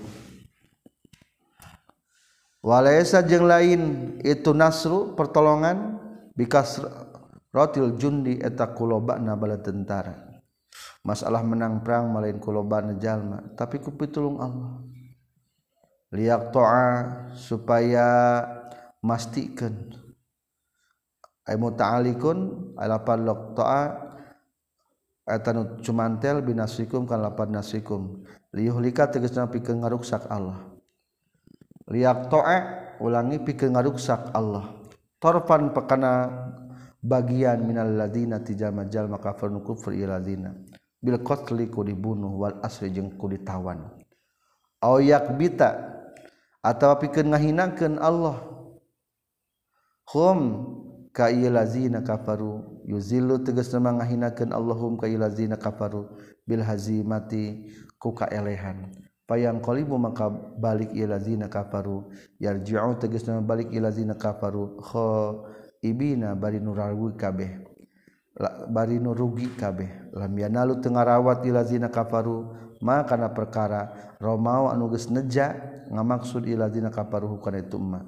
Speaker 1: walaysa jeung lain itu nasru pertolongan bikas rotil jundi eta kulobana bala tentara masalah menang perang malain kulobana jalma tapi ku pitulung Allah liak to'a supaya mastikeun ay muta'alikun alapan lok to'a eta nu cumantel binasikum kan lapan nasikum liyuhlika tegasna pikeun ngaruksak Allah liak to'a ulangi pikeun ngaruksak Allah torfan pakana bagian minal ladina tijama-jalma kafir nu kufur ieu ladina bil qatli ku dibunuh wal asri jeung ku ditawan aw yakbita atawa pikeun ngahinakeun Allah hum ka ieu lazina kafaru yuzillu tegasna ngahinakeun Allahum ka ieu lazina kafaru bil hazimati ku kaelehan payang qalibu maka balik ieu lazina kafaru yarji'u tegasna balik ieu lazina kafaru ibina bari nurawi kabeh bari nurugi kabeh lam yanalu teu ngarawat ieu lazina kafaru ma kana perkara romau anu geus neja ngamaksud ieu lazina kafaru kana itu ma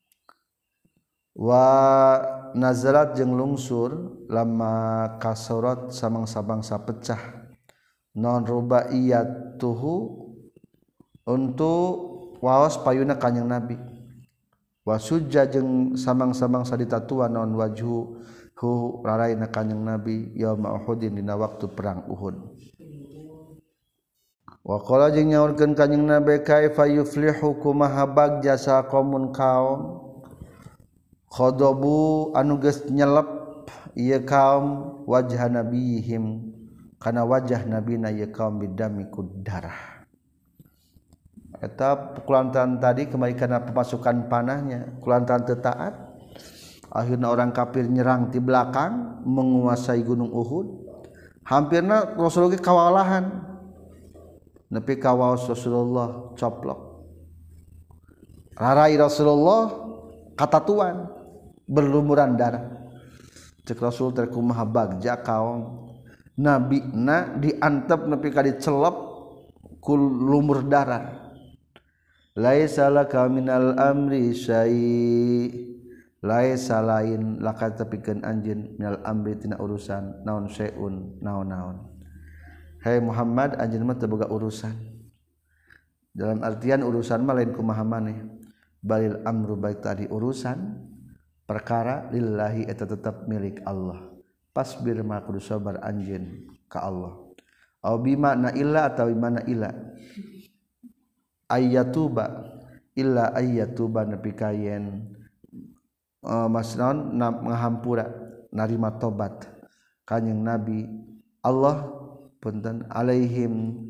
Speaker 1: wa nazarat jeung lungsur lama kasarat samang-sabangsa pecah non rubaiyatuhu untuk waos payuna kanjing Nabi wasujja jeung samang-samangsa ditatuan non wajhu hu raraina kanjing Nabi yauma Uhudin dina waktu perang Uhud wa qala jeung nyaurkeun kanjing Nabi kaifa yuflihu kumaha bagja sa qaumun kaum khadabu anu geus nyelep ieu kaum wajah nabihim kana wajah nabina ieu kaum bidami ku darah eta kulantaran tadi kembali kana pemasukan panahnya kulantaran teu taat akhirna orang kafir nyerang ti belakang menguasai gunung Uhud hampirna Rasulullah kawalahan nepi ka waos Rasulullah coplok rarai Rasulullah katatuan berlumuran darah cek Rasul teh kumaha bagja kaum nabina diantep nepi ka dicelep ku lumur darah laisa laka minal amri syai laisa lain laka tepikeun anjeun minal amri tina urusan naon syai'un naon-naon hai Muhammad anjeun mah teu boga urusan dalam artian urusan mah lain kumaha maneh balil amru baik tadi urusan perkara lillahi eta tetap milik Allah pasbir ma kudu sabar anjeun ka Allah au bima na illa atawa bimana illa ayatuba illa ayatuba nepi kayen masnaon ngahampura narima tobat kanjing Nabi Allah punten alaihim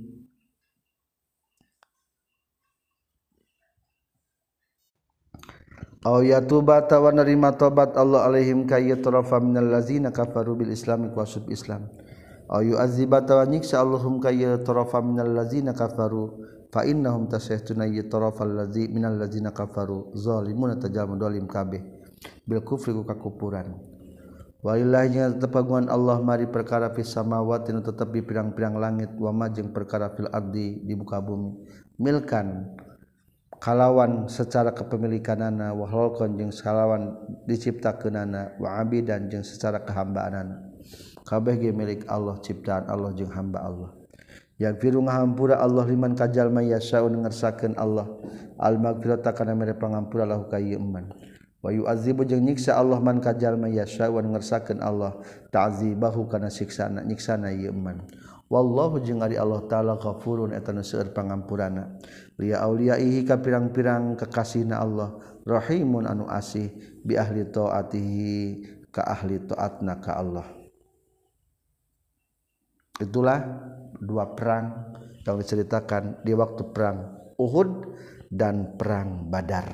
Speaker 1: aw yatuba tawa narima tobat Allah alaihim kayatrafa minal ladzina kafaru bil islami kuasub Islam aw yu'adziba tawa nyiksa Allahum kayatrafa minal ladzina kafaru fa innahum tasahtuna yatrafa alladzi minal ladzina kafaru zalimuna tajamu zalim kabeh bil kufri ku kakupuran walillahi tapaguan Allah mari perkara fis samawati nu tetep di pirang-pirang langit wa ma jeung perkara fil ardi di muka bumi milkan kalawan secara kepemilikanana wa khalqan jeung kalawan diciptakeunana wa abidan jeung secara kehambaanana kabeh ge milik Allah ciptaan Allah jeung hamba Allah yaghfiru ngahampura Allah liman kajalma yasa'u ngarsakeun Allah al maghfirata kana mere pangampura lahu ka ieu man wa yu'adzibu jeung nyiksa Allah man kajalma yasa'u ngarsakeun Allah ta'dzibahu kana siksana nyiksana ieu man wallahu jeung ari Allah taala ghafurun eta nu seueur pangampurana liya auliyaihi ka pirang-pirang kekasihna Allah rahimun anu asih bi ahli taatihi ka ahli taatna ka Allah. Itulah dua perang yang diceritakan di waktu perang Uhud dan perang Badar.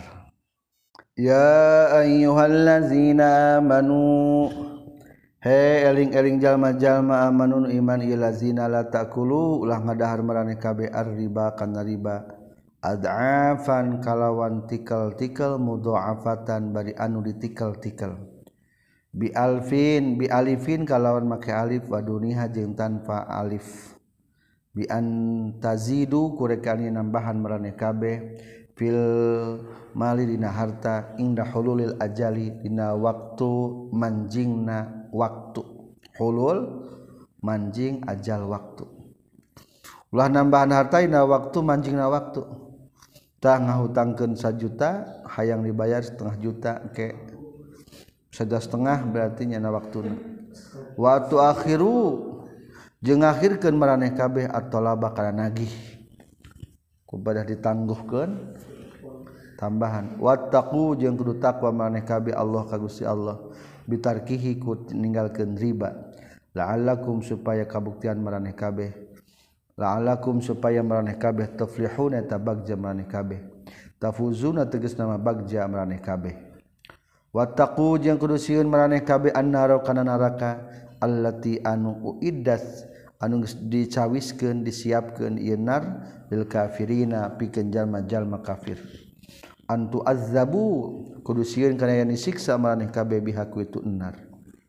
Speaker 1: Ya ayyuhallazina amanu he eling-eling jalma-jalma amanun iman ieu lazina la taqulu ulah ngadahar maraneh kabeh ar-riba kana riba ad'afan kalawan tikal-tikal mudha'afatan bari anu ditikal-tikal bi alifin kalawan make alif wa duniha jeung tanpa alif bi an tazidu kurekani nambahan maraneh kabeh fil mali dina harta inda hululil ajali dina waktu manjingna waktu hulul manjing ajal waktu ulah nambahan harta dina waktu manjingna waktu tah ngahutangkeun 1 juta hayang dibayar setengah juta ke 1,5 berarti nyana waktuna waktu akhiru jeung ngakhirkeun maraneh kabeh at-talaba kana nagih kubadah ditangguhkeun tambahan wattaqu jeung kudu takwa maraneh kabeh Allah ka Gusti Allah bitarkihi ku ninggalkeun riba la'allakum supaya kabuktian maraneh kabeh la'allakum supaya maraneh kabeh tuflihuna ta bagja maraneh kabeh tafuzuna tegasna bagja maraneh kabeh wattaqu jeung kudu sieun maraneh kabeh annara kana neraka allati anu uiddat anu dicawiskeun disiapkeun ieu nar lil kafirina pikeun jalma-jalma kafir antu azzabu kudu sieun kana yen disiksa maraneh kabeh biha ku itu nar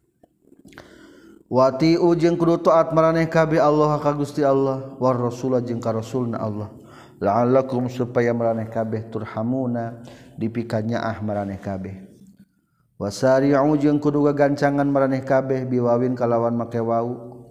Speaker 1: wati jeung kudu taat maraneh kabeh Allah ka Gusti Allah war rasul jeung ka rasulna Allah la'allakum supaya maraneh kabeh turhamuna dipikanyaah maraneh kabeh wasari'u jeung kudu gagancangan maraneh kabeh biwawin kalawan make wau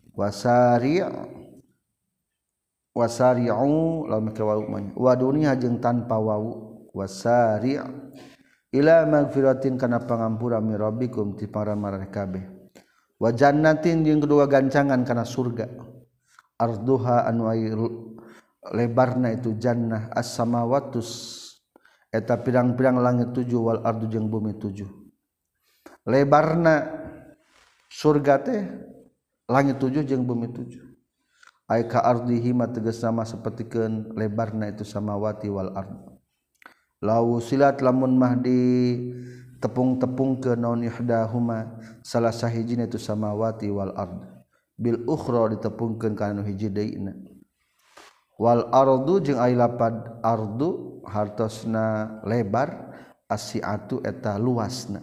Speaker 1: wasari'u lawan make wau wa dunya jeung tanpa wau wasari' ila magfiratin kana pangampura mi rabbikum ti para maraneh kabeh wa jannatin jeung kudu gagancangan kana surga arduha anu lebarna itu jannah as-samawatus eta pirang-pirang langit 7 wal ardu jeung bumi 7 lebarna surga teh langit 7 jeung bumi 7 ai ka ardihi ma tegasna mah sapertikeun lebarna itu samawati wal ard law silat lamun mah di tepung-tepungkeun naon ihdahuma salah sahijina itu samawati wal ard bil ukhra ditepungkeun kana nu hiji deuna wal ardu jeung ai lapad ardu hartosna lebar asiatu eta luasna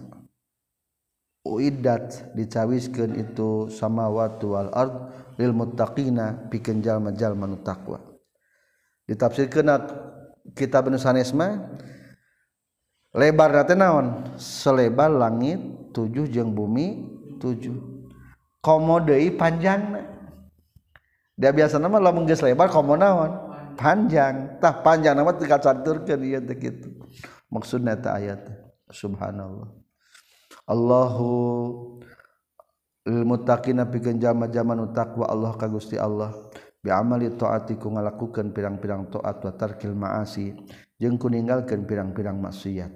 Speaker 1: uiddat dicawiskeun itu samawati wal ard lil muttaqina pikeun jalma-jalma nu taqwa ditafsirkeun kitab nu sanes mah lebarna teh naon selebar langit 7 jeung bumi 7 komo deui panjangna da biasana mah lamun geus lebar komo naon panjang tah panjangna mah teu kacaturkeun ieu teh kitu maksudna eta ayat subhanallah Allahu lil muttaqina pikeun jalma-jalma nu taqwa Allah ka Gusti Allah bi amali taati ku ngalakukeun pirang-pirang taat wa tarkil maasi jeung ku ninggalkeun pirang-pirang maksiat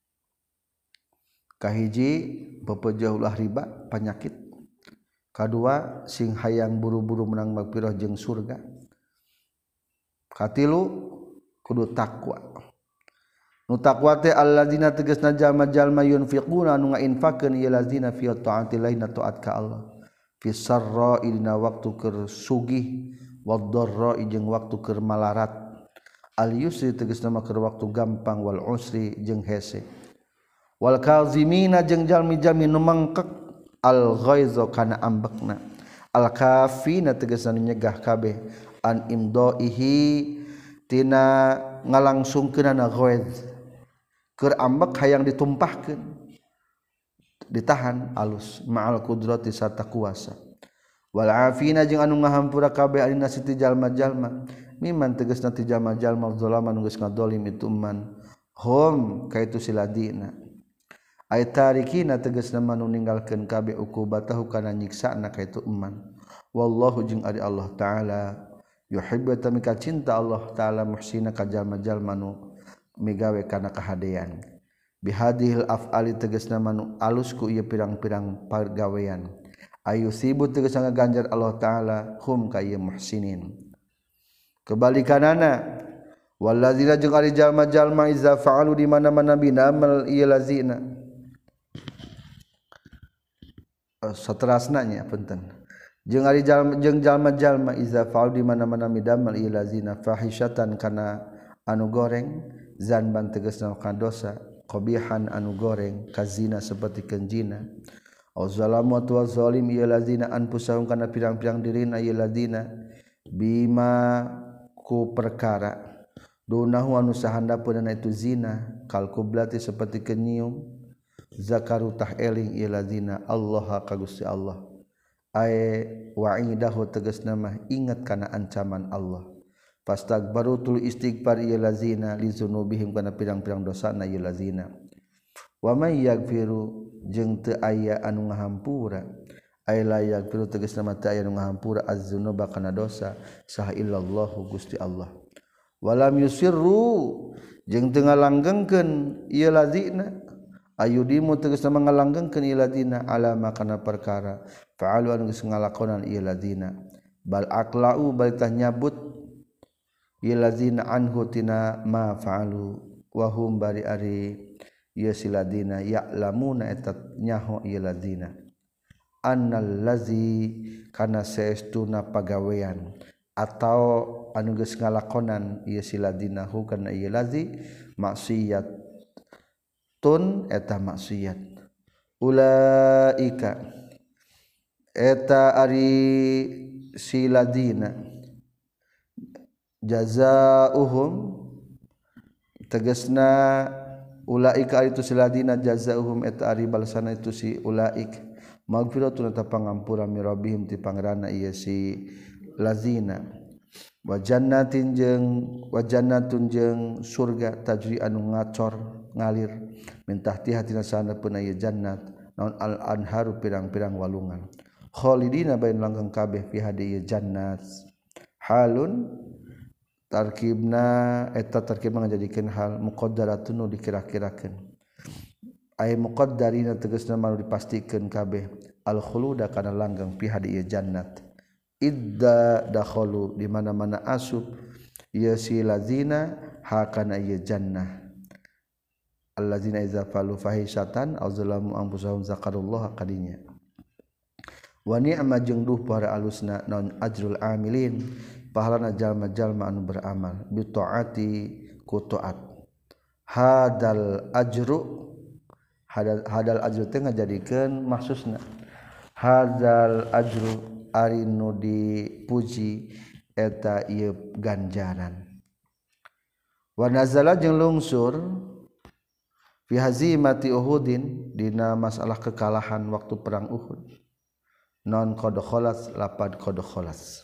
Speaker 1: kahiji bepejeuh ulah riba panyakit kadua sing hayang buru-buru menang magfirah jeung surga katilu kudu takwa nu taqwa teh alladzina tegasna jalma-jalma yunfiquna anu ngainfaqkeun ieu lazina fi taati laina taat ka Allah fi sarra dina waktu keur sugih wad darra jeung waktu keur malarat al yusri tegasna mah keur waktu gampang wal usri jeung hese wal kazimina jeung jalmi-jalmi nu mangkek al ghaiza kana ambekna al kafina tegasna nyegah kabeh an imdaihi tina ngalangsungkeunana ghaiz keur ambek hayang ditumpahkeun ditahan alus ma'al qudrati sarta kuasa wal afina jeung anu ngahampura kabeh alina siti jalma-jalma miman tegasna ti jalma-jalma zalaman geus ngadolim itu man hum kaitu siladina ay tarikina tegasna manu ninggalkeun kabeh ukubatahu kana nyiksana kaitu man wallahu jeung ari Allah taala yuhibbu tamika cinta Allah taala muhsina ka jalma-jalma nu migawe kana kahadean bihadhil af'ali tegasna manu alus ku ieu pirang-pirang pagawean ayusibu tegasna ganjar Allah taala hum ka ieu muhsinin kebalikanana wallazina jeung ari jalma-jalma iza fa'alu di mana-mana binamal ieu lazina saterasna nya punten jeung ari jalma-jalma iza fa'alu di mana-mana bidamal ieu lazina fahisyatan kana anu goreng zanban tegasna kana dosa qabihan anu goreng kazina seperti kenjina au zalamu wa zalim ieu lazina anfusahum kana pirang-pirang dirina ieu lazina bima ku perkara dunahu anu sahandapeunna itu zina kal kublati seperti kenyium zakaru tah eling ieu ladina Allah ka Gusti Allah ay wa'idahu tegasna mah ingat kana ancaman Allah fastagbaru tul istighfar ieu lazina li dzunubihim kana pirang-pirang dosana ieu lazina wa may yaghfiru jeung teu aya anu ngahampura ay la yaghfiru tegasna mah teu aya anu ngahampura az-dzunuba kana dosa saha illallah Gusti Allah walam yusirru jeung teu ngalanggengkeun ieu lazina ayudimu tegasna mah ngalanggengkeun ieu lazina ala makana perkara fa'alu anu geus ngalakonan ieu lazina bal aqlau bal tah nyabut ieu lazina anhu tina ma fa'alu wa hum bari ari ieu si lazina ya'lamuna eta nyaho ieu lazina annal lazi kana saestuna pagawean atau anu geus ngalakonan ieu si lazina hu kana ieu lazi maksiat tun eta maksiat ulaika eta ari si ladina jazaohum tegasna ulaika ari tu si ladina jazaohum eta ari balasana itu si ulaik magfiratun eta pangampura mi rabbihim ti pangeranna ieu si lazina wa jannatin jeung surga tajri anu ngacor ngalir min tahtiha tina sanepeuna ieu jannat naon al anharu pirang-pirang walungan khalidina bain langgeng kabeh fi hadiya jannat halun tarkibna eta tarkib ngajadikeun hal muqaddaratun nu dikira-kirakeun ay muqaddarina tegasna mah dipastikeun kabeh al khuluda kana langgeng fi hadiya jannat idda dakhalu di mana-mana asup ieu si lazina ha kana ieu jannah allazina iza falu fahisatan aw zalamu anfusahum zakarullah kadinya wa ni'ma jeung duh para alusna naon ajrul amilin pahalana jalma-jalma anu beramal bi taati ku taat hadal ajru teh ngajadikeun maksusna hadal ajru ari nu dipuji eta ieu ganjaran wa nazala jeung lungsur fi hazimati uhudin dina masalah kekalahan waktu perang Uhud non qad khalas lapad qad khalas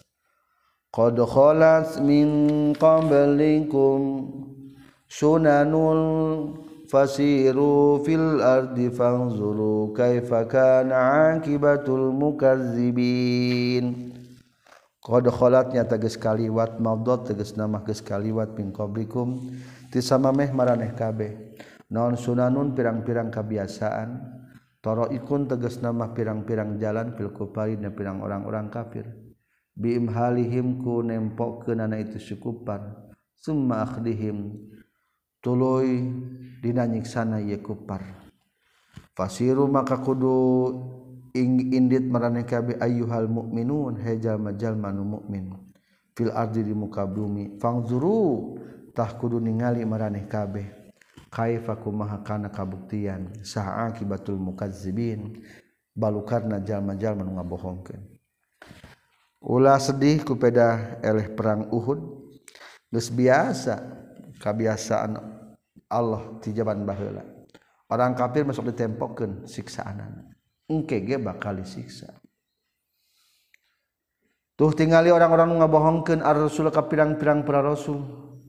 Speaker 1: min qablikum sunanul fasiru fil ardi fanzuru kaifa kana akibatul mukazzibin qad khalatnya tegas kaliwat mabdot tegas nama geus kaliwat min qablikum ti samameh maraneh kabeh non sunanun pirang-pirang kebiasaan taraikun tegas nama pirang-pirang jalan fil kufari dan pirang orang-orang kafir biimhalihim ku nempokkeunana itu sukupar summa akhdihim tuluy dina nyiksana ieu kufar fasiru maka kudu indit maraneh kabeh ayyuhal mukminun he jalma-jalma nu mukmin fil ardi di muka bumi fangzuru tah kudu ningali maraneh kabeh kaifa kumaha kana kabuktian saha akibatul mukazzibin balukarna jalma-jalma nu ngabohongkeun ulah sedih ku peda eleh perang Uhud geus biasa kabiasaan Allah ti jaman baheula orang kafir masuk ditempokkeun siksaanana engke ge bakal disiksa tuh tingali orang-orang nu ngabohongkeun ar-rasul ka pirang-pirang para rasul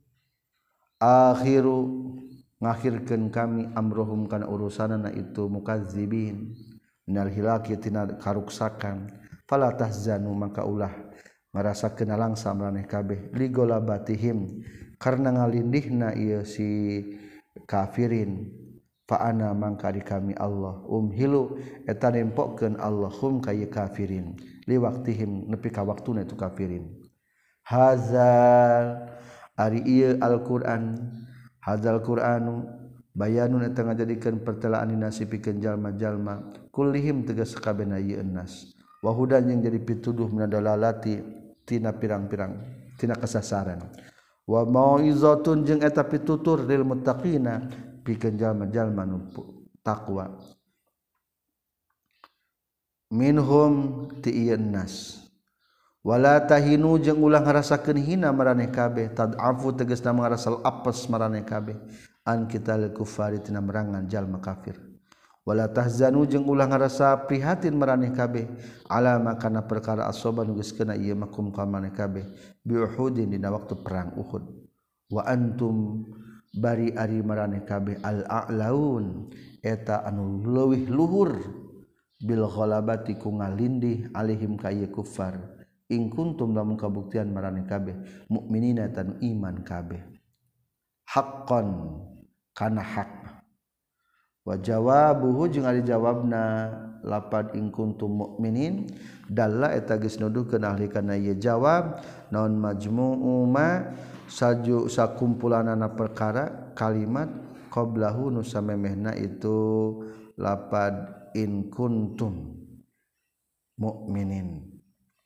Speaker 1: akhiru ngakhirkeun kami amrohum kana urusanana itu mukazzibin minal hilaki tina karuksakan fala tahzanu maka ulah ngarasakeun langsa maraneh kabeh ligolabatihim karna ngalindihna ieu si kafirin fa ana mangka di kami Allah umhilu eta nempokkeun Allahum ka ieu kafirin li waqtihim nepi ka waktuna itu kafirin hazal ari ieu Al-Qur'an hadzal Qur'anu bayanun eta ngajadikeun pertelaan dina sipikeun jalma-jalma kullihim tegas sakabehna ieu nas wa hudan yang jadi pituduh minadalalati tina pirang-pirang tina kasasaran wa mauizatun jeung eta pitutur lil muttaqina pikeun jalma-jalma nu takwa minhum ti ieu nas wala tahinu jeung ulah ngarasakeun hina maraneh kabeh tad'afu tegasna ngarasa apes maraneh kabeh an kital kufari tina merangan jalma kafir wala tahzanu jeung ulah ngarasa prihatin maraneh kabeh ala makana perkara asoba nu geus kena ieu makum ka maraneh kabeh bi uhudin dina waktu perang Uhud wa antum bari ari maraneh kabeh al a'laun eta anu leuwih luhur bil ghalabati ku ngalindih alaihim ka ieu kufar in kuntum lamun kabuktian maraneh kabeh mukminina tan iman kabeh haqqan kana hak wa jawabuhu jeung ari jawabna lapad in kuntum mukminin dalla eta geus nuduhkeun ahli kana ieu jawab naon majmu'u ma saju sakumpulanana perkara kalimat qablahu nu samemehna itu lapad in kuntum mukminin.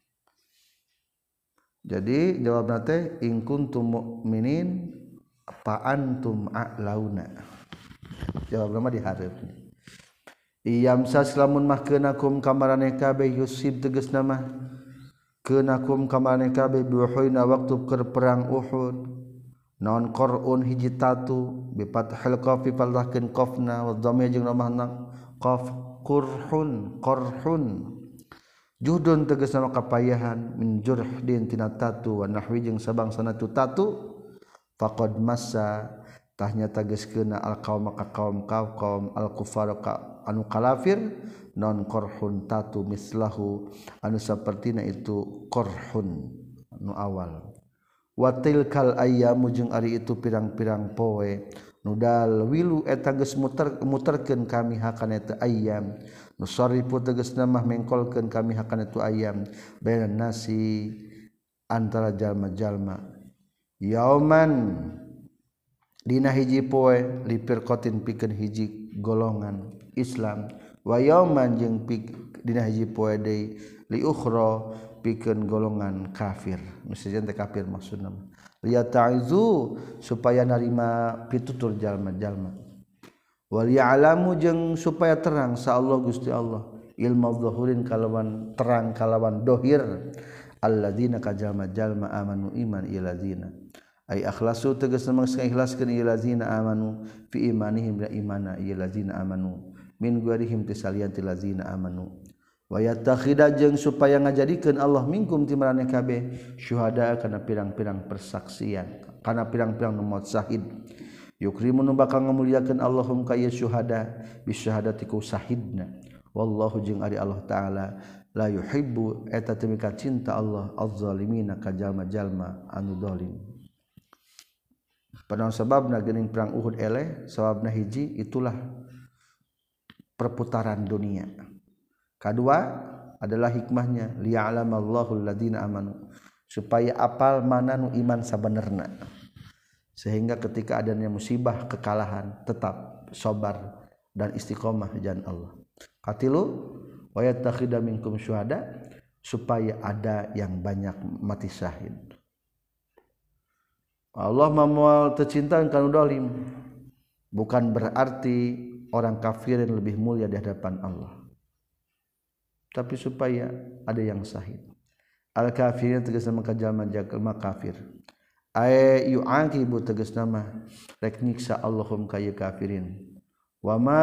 Speaker 1: Jadi jawabna teh in kuntum mukminin fa antum a'launa. Jawabna mah dihareup. Iyam saslamun mah keunakum kamaraneh kabeh yusib tegasna mah keunakum kamaraneh kabeh biuhuna waktu keur perang Uhud. Naon qur'un hiji tatu bi fathil qaf fi faldahkeun qafna wa dhamma jeung ramahna qaf qurhun juhdun tegasna kapayahan min jurhdin tina tatu wa nahwi jeung sabangsana tu tatu faqad massa tahnya tageskeuna al qaum ka kaum al kufar ka anu kalafir non qarhun tatu mislahu anu sapertina itu qarhun anu awal wa tilkal ayyamu jeung ari itu pirang-pirang poe nudal wilu eta geus muterkeun kami hakana eta ayyam nusarifu tegasna mah mengkolkeun kami hakana itu ayyam bainan nasi antara jalma-jalma yauman dina hiji poe lipirqatin pikeun hiji golongan Islam wa yauman jeung dina hiji poe deui li ukhra pikeun golongan kafir misalnya teh kafir maksudna liyata'zu supaya narima pitutur jalma-jalma wal ya'lamu jeung supaya terang sa Allah Gusti Allah ilmu dhahirin kalawan terang kalawan dohir alladzina kajalma-jalma amanu iman iladzina ay akhlasu tegasna mangsa ikhlaskeun iladzina amanu fi imanihim la imana iladzina amanu min ghairihim tisalian tiladzina amanu wa yattakhida jeung supaya ngajadikeun Allah minkum ti maraneh kabeh syuhada kana pirang-pirang persaksian kana pirang-pirang nu maut syahid yukrimu nu bakal ngamuliakeun Allahum ka ieu syuhada bi syahadati ku syahidna wallahu jeung ari Allah taala la yuhibbu eta teu mika cinta Allah az-zalimina ka jalma-jalma anu zalim panaon sababna geuning perang Uhud eleh sababna hiji itulah perputaran dunia. Kedua adalah hikmahnya liya'lamallahu alladziina amanu supaya apal mana nu iman sabenerna sehingga ketika adanya musibah kekalahan tetap sabar dan istiqomah jalan Allah. Katilu wa yattakhidha minkum syuhada supaya ada yang banyak mati syahid. Allah memual tercintaan kanu dolim bukan berarti orang kafir yang lebih mulia di hadapan Allah, tapi supaya ada yang syahid. Al kafirin tegasna maka jalma kafir ay yu'aqibu tegasna mah rek nyiksa Allahum kaya kafirin wa ma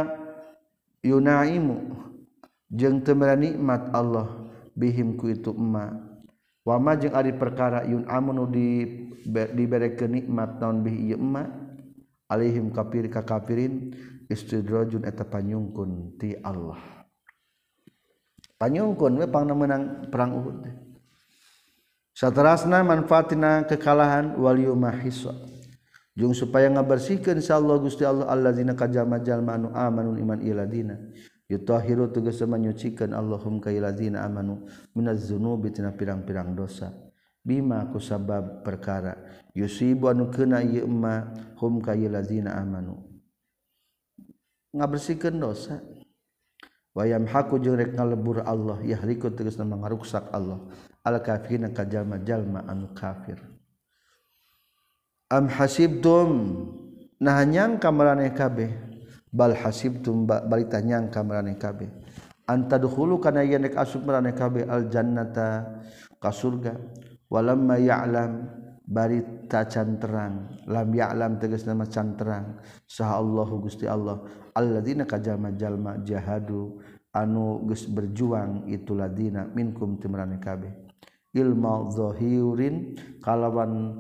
Speaker 1: yunaimu jeung teu nikmat Allah bihim ku itu emma wa ma jeung ari perkara yun'amunu diberekeun nikmat naon bihi ieu emma alaihim kafir ka kafirin istidrajun eta panyungkun ti Allah. Panyungkun we pangna meunang perang Uhud. Saterasna manfaatina kekalahan wal yumahisa. Jeung supaya ngabersihkeun insyaallah Gusti Allah allazina kajama-jalma anu amanu iman iladina. Yutahiru tegasna nyucikeun Allahum ka iladina amanu minaz dzunubi tina pirang-pirang dosa. Bima kusabab perkara yusibu anu keuna ieu emma hum ka iladina amanu. Ngabersihkeun dosa. Wayam haku jeung rek ngalebur Allah yahliku tegasna mangaruksak Allah al kafirin ka jalma-jalma anu kafir. Am hasibtum nah nyangka maraneh kabeh bal hasibtum balita nyangka maraneh kabeh anta dukhulu kana yen rek asup maraneh kabeh al jannata ka surga walamma ya'lam bari tacan terang lam ya'lam tegasna mah can terang saha Allahu Gusti Allah alladzina kajalma-jalma jahadu anu geus berjuang itu ladina minkum timrane kabeh ilmu zahirin kalawan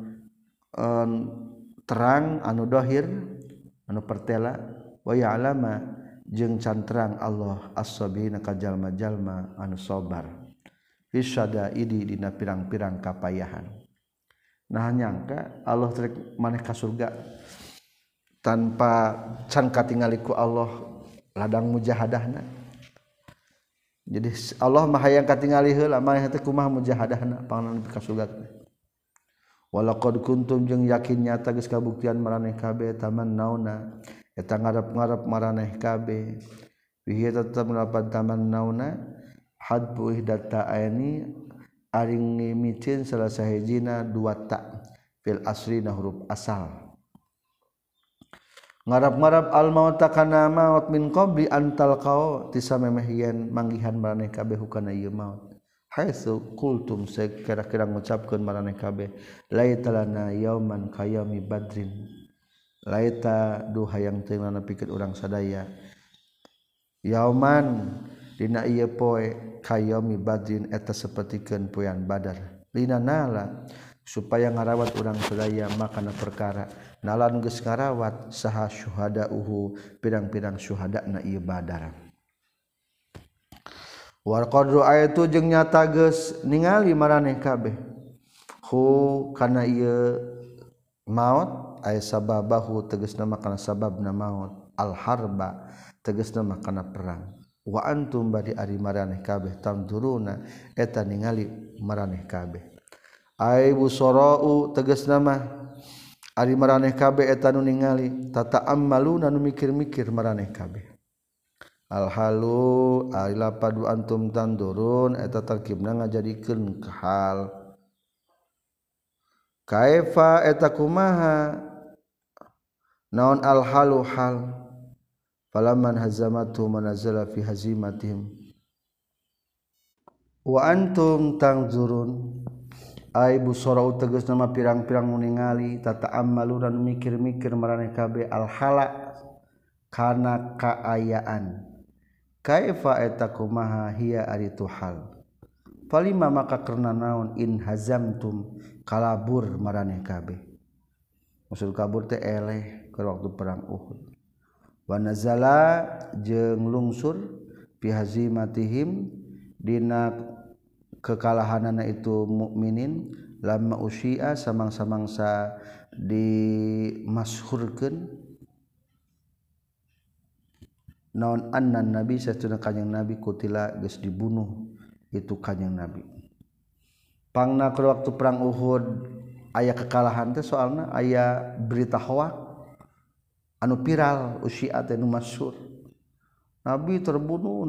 Speaker 1: terang anu dohir anu pertela wa ya'lama jeung can terang Allah as-sabina kajalma-jalma anu sabar fisyadaidi dina pirang-pirang kapayahan. Nah nyangka Allah trek maneh ka surga tanpa can katingali ku Allah ladang mujahadahna. Jadi Allah mah hayang katingali heula maneh teh kumaha mujahadahna panganan ka surga. Walaqad kuntum jeung yakin nyata geus kabuktian maraneh kabeh tamannauna eta ngarep-ngarep maraneh kabeh. Bihi tetep melapan tamannauna hadbu ihdata aini aring ngimicin salah sahijina dua ta fil asrina huruf asal ngarap-ngarap al mauta kana maut min qabli antal qau tisamemeh yen manggihan maraneh kabeh hukana ieu maut haitsu qultum kira-kira ngucapkeun maraneh kabeh laitalana yauman kayami badrin laita duh hayang teu nepikeun urang sadaya yauman dina ieu poe kayomi badrin eta sapertikeun poean badar lina nala supaya ngarawat urang sadaya makana perkara nalan geus ngarawat saha syuhadauhu pirang-pirang syuhadana ieu badar war qadru ayatu jeung nyata geus ningali maraneh kabeh hu kana ieu maut ay sababahu tegasna makana sababna maut al harba tegasna makana perang wa antum bari ari maraneh kabeh tamduruna eta ningali maraneh kabeh ai busarau tegasna mah ari maraneh kabeh eta nu ningali tata'ammaluna nu mikir-mikir maraneh kabeh al halu ai lapadu antum tandurun eta tarkibna ngajadikeun hal kaifa eta kumaha naon al halu hal falaman hazamatu manazala fi hazimatihim wa antum tanzurun ay busarau tegas nama pirang-pirang ningali tata'ammaluna mikir-mikir maraneh kabeh al hala kana kaayaan kaifa eta kumaha hiya ari tu hal falima maka karna naon in hazamtum kalabur maraneh kabeh maksud kabur teh eleh ke waktu perang Uhud wa nazala jeung lungsur fi hazimatihim dina kekalahanana itu mukminin lamma usyi'a samang-samangsa dimasyhurkeun naon annan nabi satuna kanjing nabi kutila geus dibunuh itu kanjing nabi pangna ke waktu perang Uhud aya kekalahan teh soalna aya berita hoak anu viral usyiat anu masyhur nabi terbunuh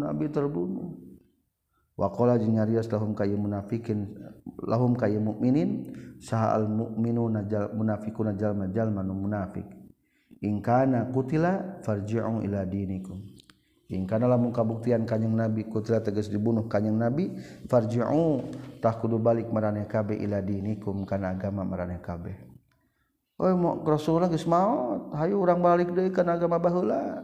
Speaker 1: wa qala nyarios lahum kayy munafikin lahum kayy mukminin saha al mukminuna munafiquna jalma nu munafik in kana qutila farji'u ila dinikum in kana lamun kabuktian kanjing nabi qutila tegas dibunuh kanjing nabi farji'u tah kudu balik maraneh kabeh ila dinikum kana agama maraneh kabeh. Oh mau Rasulullah geus maot, hayu urang balik deui kana agama baheula.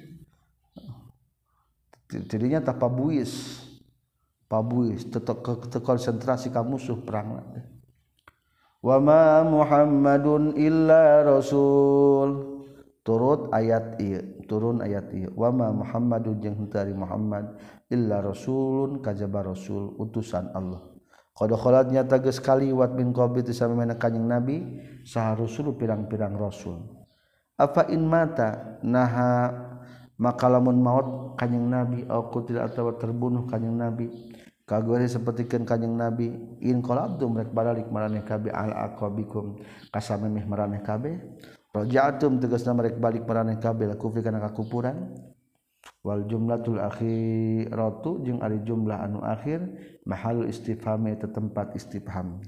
Speaker 1: Tidinya tah pabuis tetep konsentrasi ka musuh perang. Wa ma Muhammadun illa rasul. Turun ayat ieu. Wa ma Muhammadun jeung henteu ari Muhammad illa rasulun kajaba rasul utusan Allah. Qad khalat nyata geus kaliwat min qabli tisamana kanjing nabi saha rusul pirang-pirang rasul afa in mata naha maka lamun maut kanjing nabi au qutil atawa terbunuh kanjing nabi kagore sapertikeun kanjing nabi in qalabtum rek balik maraneh kabeh al aqabikum kasamemeh maraneh kabeh raja'atum tegasna rek balik maraneh kabeh kufri kana kakupuran wal jumlatul akhiratu jeung ari jumlah anu akhir mahal istifham eta tempat istifham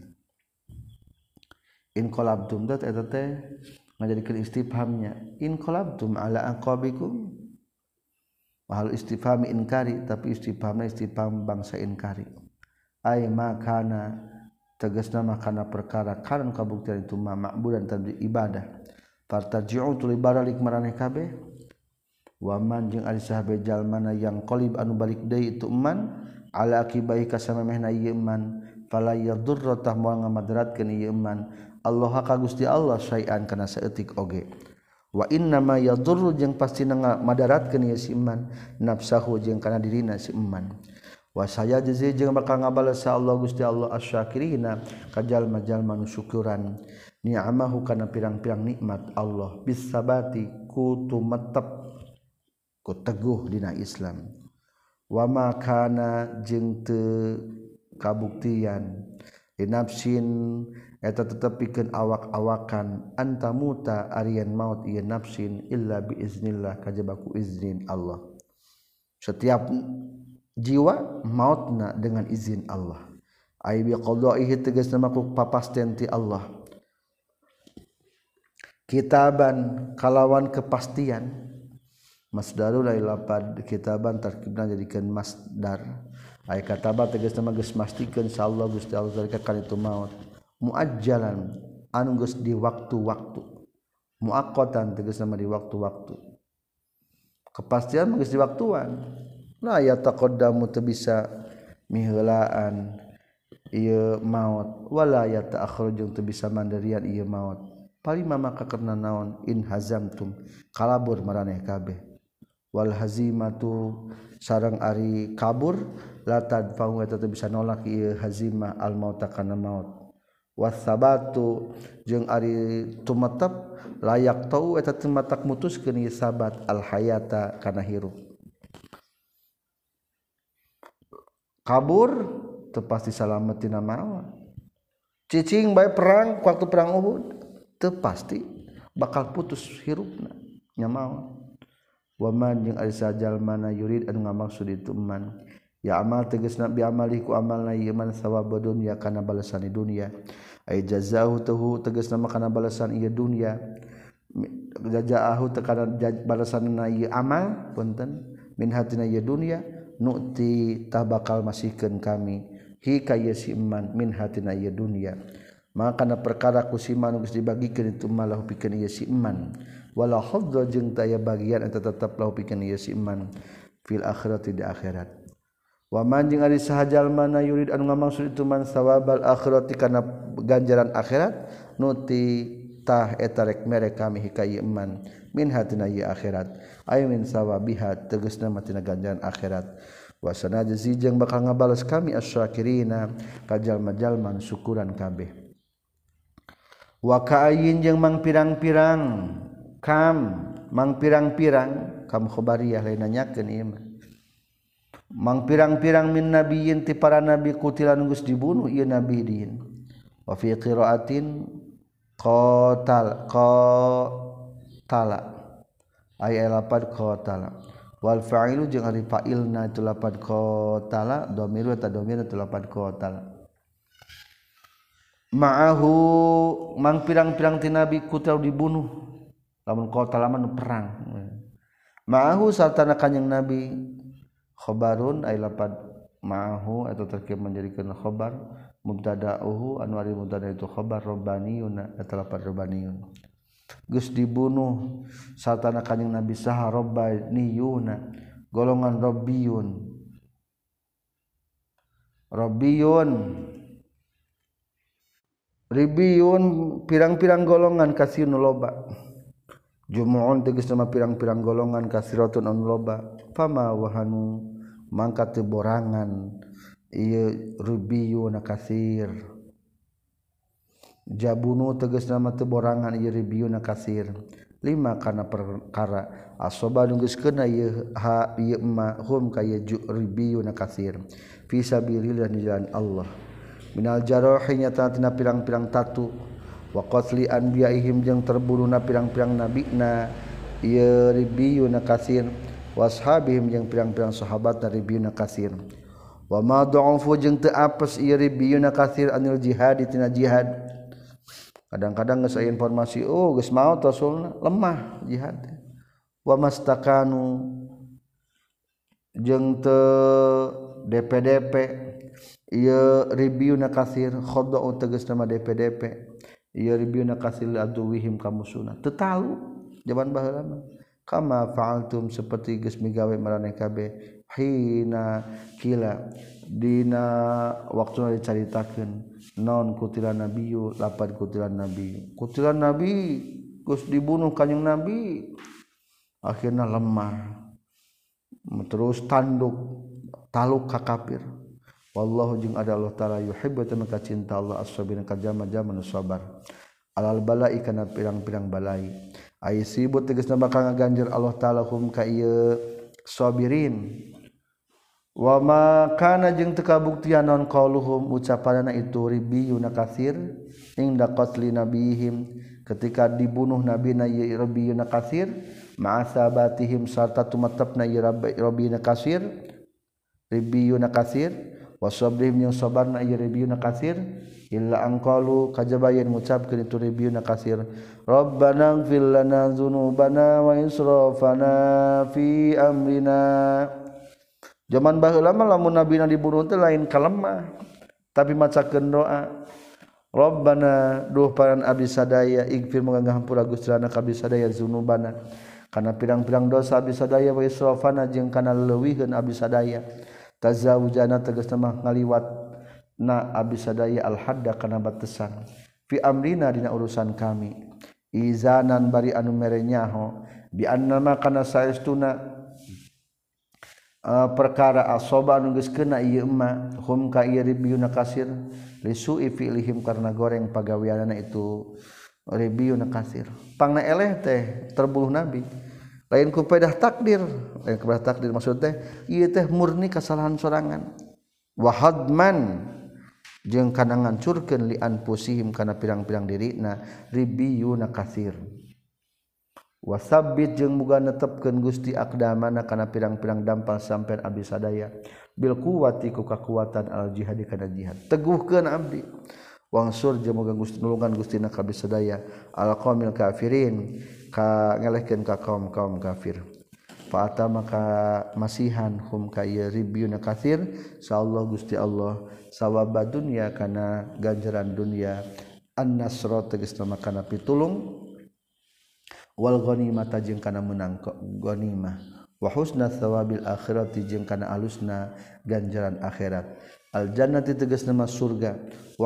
Speaker 1: in qalabtum dat eta teh ngajadikeun istifhamnya in qalabtum ala aqabikum mahal istifham inkari tapi istifhamna istifham bangsa inkari ay makana tegasna mah kana perkara kana kabuktian itu mah ma'budan tadi ibadah fartaji'u tuluy baralik maraneh kabeh waman jeung ari sahabe jalmana yang qalib anu balik deui itu man ala akibai ka samemehna ieu man fala yadurra tah moal ngamadratkeun ieu man Allah ka Gusti Allah sayan kana saeutik oge wa inna ma yadurru jeung pastina ngamadaratkeun ieu si man nafsahu jeung kana dirina si man wa saya jazi jeung bakal ngabales Allah Gusti Allah asyakirina ka jalma-jalma nu syukuran ni'amahu kana pirang-pirang nikmat Allah bis sabati ku tumetep ku teguh dina Islam wa ma kana jeung teu kabuktian nafsin eta tetepikeun awak-awakan antamuta arian maut ieu nafsin illa bi iznillah kajaba ku izin Allah setiap jiwa mautna dengan izin Allah ai bi qada'ihi tegasna maku papasten ti Allah kitaban kalawan kepastian masdarul lail lapad kitaban tarkibna jadikeun masdar ai kataba tegasna geus mastikeun insyaallah Gusti Allah zalika kana itu maut muajjalan anu geus di waktu-waktu muaqqatan tegasna di waktu-waktu kepastian geus di waktuan la yataqaddamu teu bisa miheulaan ieu maut wala yata'akhkharu jeung teu bisa mandirian ieu maut palima maka karna naon in hazamtum kalabur maraneh kabeh wal hazimatu sareng ari kabur la tadfa'u eta teu bisa nolak ieu hazimah al mauta kana maut wasabatu jeung ari tumetep layak tau eta teu matak mutuskeun ieu sabat al hayata kana hirup kabur teu pasti salametina mawa cicing bae perang waktu perang Uhud teu pasti bakal putus hirupna nya mawa waman jeung ari sajalmana yurid anu ngamaksud itu man ya amal tegasna bi amaliku amalna ieu man sawab dunya kana balasan di dunia ay jazaahu tuhu tegasna kana balasan ieu dunya jazaahu teu kana balasanna ieu amal punten min hatina ieu dunya nu'ti tah bakal masihkeun kami hi ka ieu si iman min hatina ieu dunya maka kana perkara ku si iman geus dibagikeun itu malah pikeun ieu si iman wala hadza jeung teu aya bagian eta tetep lahu pikeun ieu si iman fil akhirati di akhirat wa man jeung ari saha jalmana yurid anu ngamaksud itu man sawabal akhirati kana ganjaran akhirat nuti tah eta rek mere kami hi ka ieu iman min hatina ieu akhirat ay min sawabiha tegasna matina ganjaran akhirat wa sanajzi jeung bakal ngabales kami asyakirina ka jalma-jalma syukuran kabeh wa ka'ayyin jeung mang pirang-pirang kam mang pirang-pirang kam khobariyah lain nanyakeun ieu mah mang pirang-pirang min nabiyyin ti para nabi kutilan geus dibunuh ieu nabi din wa fi qiraatin qatala ay lapad qatala wal fa'ilu jeung ari fa'ilna itu lapad qatala dhamiru ta dhamir itu lapad qatala ma'ahu mang pirang-pirang ti nabi kutil dibunuh lamun qatala mah perang ma'ahu sartana kanjing nabi khabarun ay lapad ma'ahu atau terkait menjadikan khabar mubtada'uhu anu ari mubtada itu khabar robbaniyun eta lapad robbaniyun geus dibunuh satana kanjing nabi saha robbaniyuna golongan robbiyun ribiyun pirang-pirang golongan kasinu loba jumu'un tegasna pirang-pirang golongan kasiratun anu loba fama wahanu mangka teu borangan ieu ribiyuna kasir jabunu tegasna teu borangan ieu ribiyuna kasir lima kana perkara asoba geus keuna ieu ha ieu ma hum ka ieu ribiyuna kasir fi sabilillah di jalan Allah minal jarahi nyata tina pirang-pirang tatu wa qatli anbiyaihim jeung terbunuhna pirang-pirang nabina ieu ribiyuna kasir washabihim jeung pirang-pirang sahabat ribiyuna kasir wa ma dha'afu jeung teu apes ieu ribiyuna kasir anil jihad tina jihad kadang-kadang geus aya informasi geus maot rasulna lemah jihad wa mastakanu jeung teu DP-DP ieu ribiuna kasir khadau tegasna mah DP-DP ieu ribiuna kasir aduwihim ka musuhna teu talu zaman baheula mah kama fa'altum seperti geus migawe maraneh kabeh hina kila dina waktuna dicaritakeun naon kutilan nabiyyu lapad kutilan nabi geus dibunuh kanjing nabi akhirna lemah terus tanduk taluk ka kafir wallahu jeung ada Allah taala yuhibbu tamaka cinta Allah as-sabirin ka jama-jama nu sabar alal balai kana pirang-pirang balai ai sibut tegasna bakal ngaganjir Allah taala hum ka ieu sabirin wa ma kana jeung teu kabuktian naon qauluhum ucapanna itu ribiyuna katsir inda qatli nabihim ketika dibunuh nabina ieu ribiyuna katsir ma'asabatihim sarta tumatepna ieu ribiyuna katsir wasabrihim yang sabarna ieu ribiyuna katsir illa anqalu kajabayan ngucapkeun itu ribiyuna katsir rabbana ighfir lana dzunubana wa israfana fi amrina zaman baheula mah lamun nabina dibunuh teh lain kalemah tapi macakeun doa rabbana duh paran abdi sadaya ighfir moga ngahampura Gusti lana ka abdi sadaya dzunubana kana pirang-pirang dosa abdi sadaya wa israfana jeung kana leuwihkeun abdi sadaya tazawujana tegasna mah ngaliwatna abdi sadaya al hadda kana batasan fi amrina dina urusan kami izanan bari anu mere nyaho bi annama kana saestuna perkara asoba anu geus keuna ieu emma hum ka ieu ribiyuna kasir lisu'i fi'lihim karena goreng pagaweanna itu ribiyuna kasir pangna eleh teh terbuluh nabi lain ku pedah takdir maksud teh ieu teh murni kasalahan sorangan wa hadman jeung kana ngancurkeun li anfusihim kana pirang-pirang dirina ribiyuna kasir wasabbit jeung muga netepkeun Gusti aqdamana kana pirang-pirang dampal sampean abdi sadaya bil quwwati ku kakuatan al jihad kana jihad teguhkeun abdi wangsur jeung muga Gusti nulungan Gustina ka abdi sadaya al qaumil kafirin ka ngelehkeun ka kaum kafir fa atama ka masihan hum ka ribiyuna katsir insyaallah Gusti Allah sawaba dunya kana ganjaran dunya an-nasra tegasna kana pitulung wal ghanimah jeung kana menang ghanimah wa husna thawabil akhirati jeung kana alusna ganjaran akhirat al jannati tegasna mah surga wa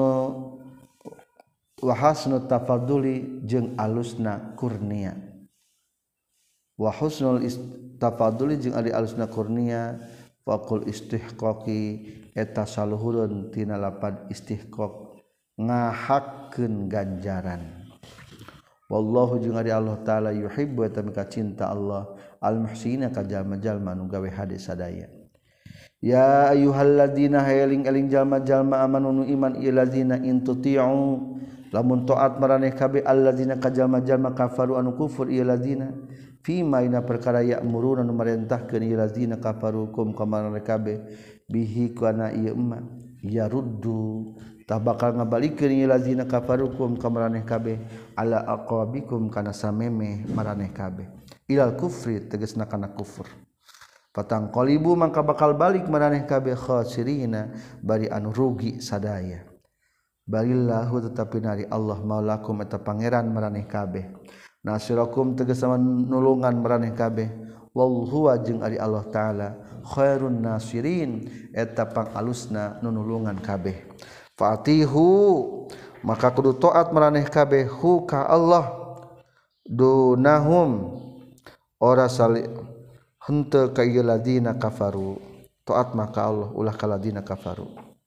Speaker 1: hasnu tafaduli jeung alusna kurnia wa husnul tafaduli jeung ali alusna kurnia faqul istihqaqi eta saluhurun tina lapad istihqaq ngahakkeun ganjaran wallahu jeung ari Allah taala yuhibbu tamika cinta Allah al muhsina ka jalma-jalma nu gawe hade sadaya ya ayyuhalladzina hayaling-eling jalma-jalma amanu nu iman ieu ladzina intuti'u lamun taat maraneh kabeh alladzina ka jalma-jalma kafaru anu kufur ieu ladzina fima ina perkara ya'muruna nu marentahkeun ieu ladzina kafaru kum ka maraneh kabeh bihi kana ieu emma yaruddu tah bakal ngabalikeun ieu lazina kafarukum ka maraneh kabeh ala aqabikum kana sameme maraneh kabeh ilal kufri tegasna kana kufur patang qalibu mangka bakal balik maraneh kabeh khasirina bari anu rugi sadaya balillahu tetapi nari Allah maulakum eta pangeran maraneh kabeh nasirakum tegasna nulungan maraneh kabeh wallahu jeung ari Allah taala khairun nasirin eta pangalusna nunulungan kabeh fatihu maka kudu taat maraneh kabeh hu ka Allah dunahum ora sali henteu ka ieu ladina kafaru taat maka Allah ulah ka ladina kafaru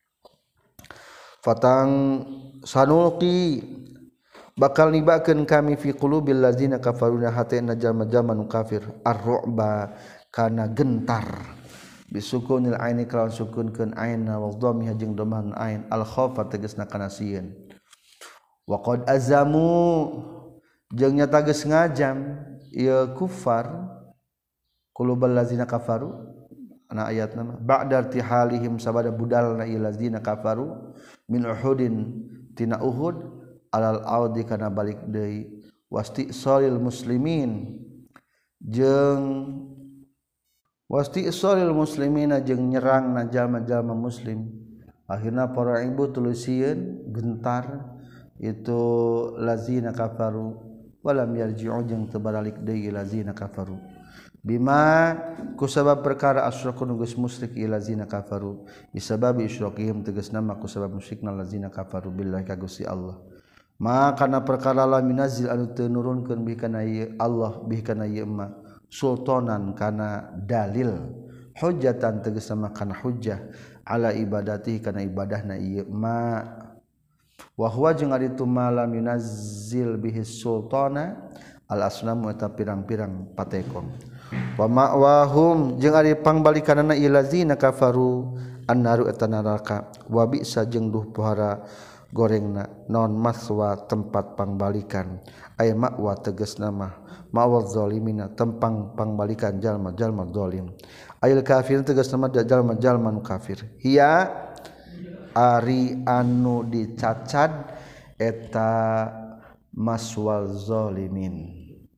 Speaker 1: fatang sanulqi bakal nibakeun kami fi qulubil ladzina kafaruna hatena jalma-jalma nu kafir ar-ru'ba kana gentar bisukunil aini kalawan sukunkeun ain wa dhammiha jeung dhamman ain al khaufa tegasna kana sieun wa qad azamu jeung nyata geus ngajam ieu kufar qulubal ladzina kafaru ana ayatna mah ba'da irtihalihim sabada budalna ieu ladzina kafaru min uhudin tina uhud alal audi kana balik deui wasti'salil muslimin jeung wasti isolil muslimina jeung nyerangna jalma-jalma muslim akhirna para ibu tulusieun gentar itu lazina kafaru walam yarji'u jeung teu balik deui lazina kafaru bima kusabab perkara asyraku geus musyrik lazina kafaru bisabab isyraqihim tegasna mah kusabab musyrikna lazina kafaru billahi ka Gusti Allah maka kana perkara la minazil anu teu nurunkeun bi kana Allah bi kana ieu ma sultanan kana dalil hujjatan tegasna mah kana hujjah ala ibadati kana ibadahna ieu ma wa huwa jeung ari tu malam yunazzil bihi sultana al asnamu eta pirang-pirang patekong wa ma'wahum jeung ari pangbalikanana ilazina kafaru annaru eta neraka wa bisa jeung duh pohara gorengna non maswa tempat pangbalikan aya ma'wa tegasna mah ma'wal zalimina tempang pangbalikan jalma-jalma zalim ayil kafir tegasna mah jalma-jalma nu kafir hiya ari anu dicacad eta maswal zalimin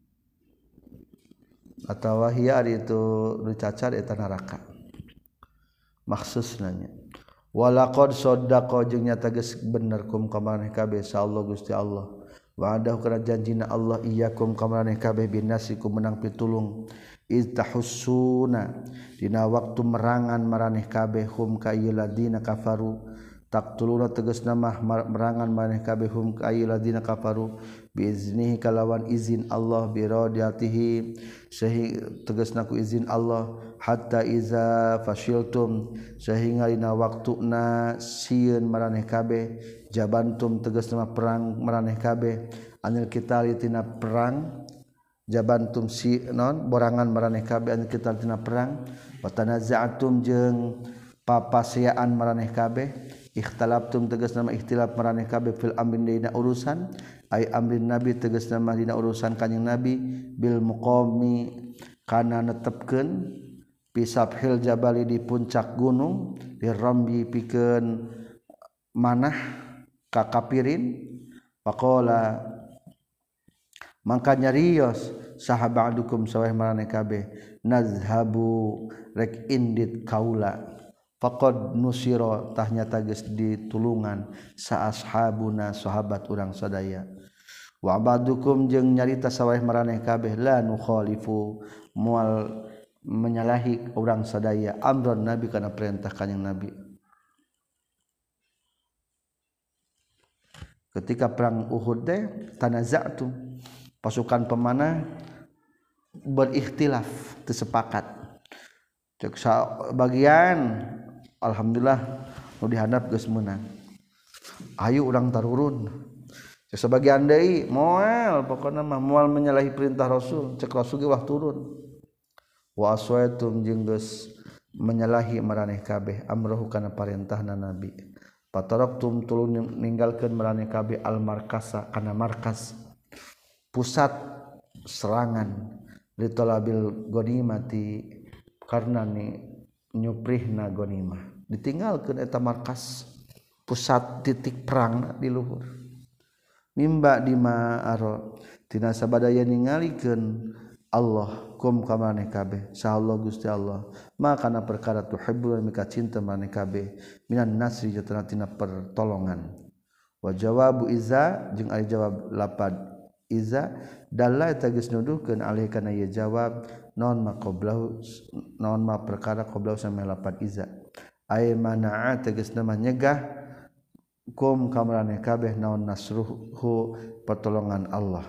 Speaker 1: atawa hiya ari itu dicacad eta neraka maksusna nya walaqad saddaqa jeung nyata geus bener kum ka maneh kabeh insyaallah Gusti Allah wa'adahu kana janjina Allah iyyakum ka maneh kabeh binasikum menang pitulung iztahussuna dina waktu merangan maraneh kabeh hum ka ieu ladina kafaru taqtuluna tegasna mah merangan maneh kabeh hum ka ieu ladina kafaru biiznihi kalawan izin Allah bi radiyatihi sehingga tegasna ku izin Allah hatta iza fashiltum sehingga dina waktuna sieun maraneh kabeh jabantum tegasna mah perang maraneh kabeh anil qitali tina perang jabantum si non borangan maraneh kabeh anil qitali tina perang wa tanaza'tum jeung papaseaan maraneh kabeh ikhtalaftum tegasna mah ikhtilaf maraneh kabeh fil amrin dina urusan ay amrin nabi tegasna mah dina urusan kanjing nabi bil muqami kana netepkeun pisabhil jabali di puncak gunung dirambi pikeun manah ka kapirin faqala mangka nyarios sahabadukum saweh maraneh kabeh nazhabu rek indit kaula faqad nusira tah nyata geus ditulungan sa ashabuna sahabat urang sadaya wa abadukum jeung nyarita saweh maraneh kabeh la nukhalifu moal menyalahi urang sadaya amron nabi kana perintah kanjing nabi ketika perang Uhud teh tanaza'tu pasukan pemanah berikhtilaf teu sepakat cek bagian alhamdulillah nu dihandap geus meunang ayo urang tarurun cek sebagian deui moal pokona mah moal menyalahi perintah Rasul cek Rasul ge wah turun wa aswaitum jeung geus menyalahi maraneh kabeh amrohu kana parentahna nabi pataraktum tulun ninggalkeun maraneh kabeh al markasa kana markas pusat serangan litolabil ghanimati karna ni nyuprihna ghanimah ditinggalkeun eta markas pusat titik perang di luhur mimba dima aro tina sabadaya ningalikeun Allah kum ka maneh kabeh sahallah Gusti Allah maka kana perkara tuhibbul mika cinta maneh kabeh minan nasri jatana tina pertolongan wa jawabu iza jeung ari jawab lapad iza dalla eta geus nuduhkeun alih kana ieu jawab naon ma qablahu naon ma perkara qablahu sampai lapad iza ay manaa tegasna mah nyegah kum ka maneh kabeh naon nasruhu pertolongan Allah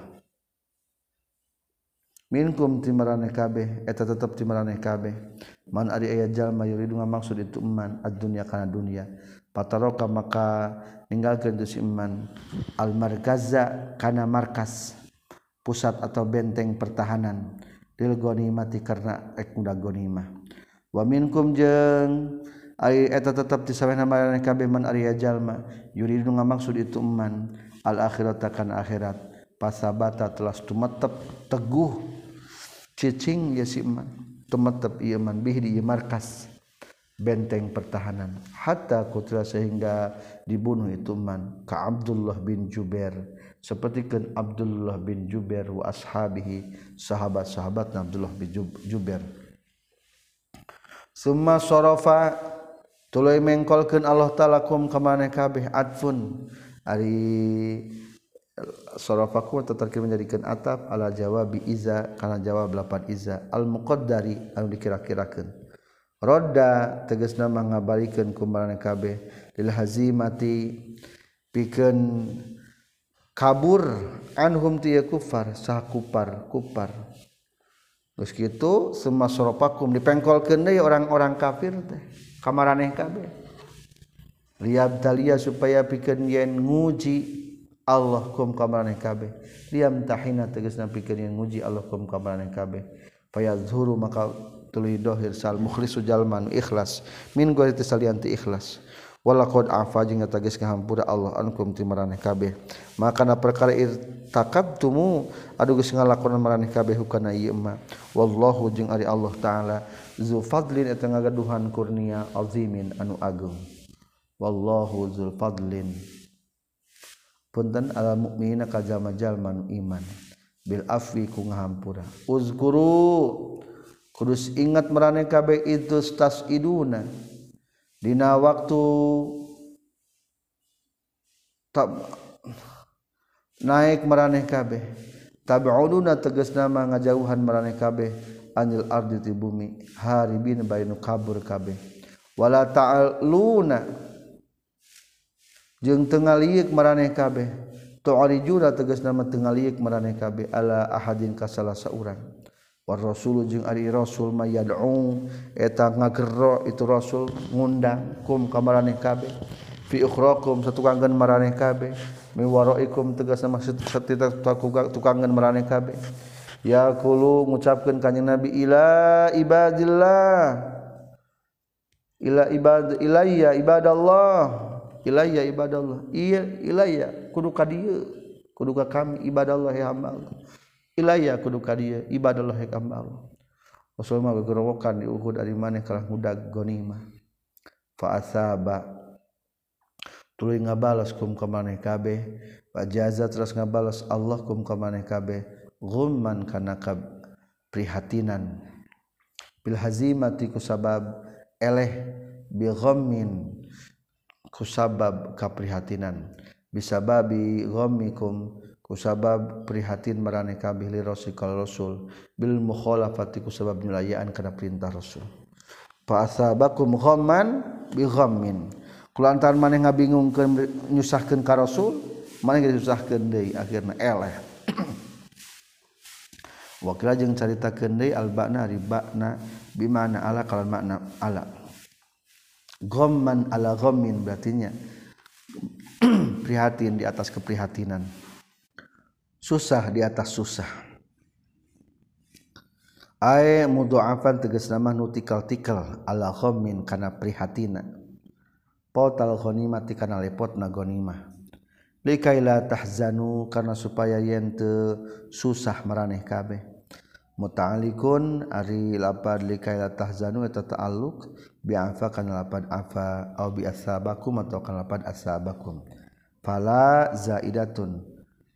Speaker 1: minkum timaraneh kabeh eta tetep timaraneh kabeh man ari aya jalma yuridu ngamaksud itu iman ad-dunya kana dunya pataroka maka ninggalkeun tu si iman al markaza kana markas pusat atau benteng pertahanan lil ghanimati karna ek mudah ghanimah wa minkum jeung ai eta tetep ti sawehna maraneh kabeh man ari jalma yuridu ngamaksud itu iman al akhirata kana akhirat pasabata telah tumetep teguh cicing ya si iman tumetep ieu iman bih di markas benteng pertahanan hatta kutila sehingga dibunuh itu iman ka Abdullah bin Jubair sapertikeun Abdullah bin Jubair wa ashabihi sahabat-sahabat Abdullah bin Jubair summa sarafa tuluy mengkolkeun Allah taala kum ka maneh kabeh adfun ari sarafaku terkira menjadikan atap ala jawabi iza kana jawab lapan iza al muqaddari anu dikira-kirakeun rodda tegasna ngabalikeun ku maneh kabeh lil hazimati pikeun kabur anhum tiya kufar sah kupar geus kitu summa sarafakum dipengkolkeun deui orang-orang kafir teh ka maraneh kabeh liyabtaliya supaya pikeun yen nguji Allah kum ka maraneh kabeh liam tahina tegasna pikeun yen nguji Allah kum ka maraneh kabeh fayazhuru maka tuluy dohir sal mukhlisu jalman ikhlas min gori tisalianti ikhlas walaqad afa jeung tegas ngahampura Allah ankum ti maraneh kabeh maka na perkara irtakabtumu adu geus ngalakonan maraneh kabeh hukana ieu mah wallahu jeung ari Allah taala zu fadlin eta ngagaduhan kurnia azimin anu agung wallahu zul fadlin punten ala mukminina ka jalma-jalma nu iman bil afwi ku ngahampura uzkuru kudus ingat maraneh kabeh itu stasiduna dina waktu naik maraneh kabeh tabi'uduna tegasna mah ngajauhan maraneh kabeh anil ardi ti bumi haribin bainu kabur kabeh wala ta'aluna jeung teu ngaliuk maraneh kabeh tu'arijuna tegasna mah teu ngaliuk maraneh kabeh ala ahadin ka salah saurang war rasul jeung ari rasul mayad'u eta ngagerro itu rasul ngundang kum ka maraneh kabeh fi ukhrakum satukangkeun maraneh kabeh mi waraikum tegasna maksud satita tukangkeun maraneh kabeh ya qulu ngucapkeun kanjing nabi ila ibadillah ila ilayya ibadallah ilayya ibadallah iya ilayya kudu ka dieu kudu ka kami ibadallah ya hamba Allah ilayya kudu ka dieu ibadallah ya hamba Allah Rasul mah gegerowokan di Uhud ari maneh kalah ngudag ghanimah fa asaba tuluy ngabalas kum ka maneh kabeh wa jaza terus ngabalas Allah kum ka maneh kabeh ghumman kana prihatinan bil hazimati kusabab eleh bi ghammin kusabab kaprihatinan bisababi ghammikum kusabab prihatin maraneh kabeh li rasul bil mukhalafati kusabab nyulayaan kana perintah rasul fa asabakum ghamman bi ghammin kulantaran maneh ngabingungkeun nyusahkeun ka rasul maneh disusahkeun deui akhirna eleh wakila jeung caritakeun deui albana ribana bimana ala kalan makna ala ghamman ala ghammin berartinya prihatin di atas keprihatinan susah di atas susah ay mudha'afan tegasna mah nu tikal-tikal ala ghammin kana prihatina pautal ghanimati kana lepotna ghanimah likaila tahzanu kana supaya yen teu susah maraneh kabeh muta'alliqun ari lapad likaila tahzanu eta ta'alluq bi afa kana lapad afa au bi asabakum atau kana lapad asabakum fala zaidatun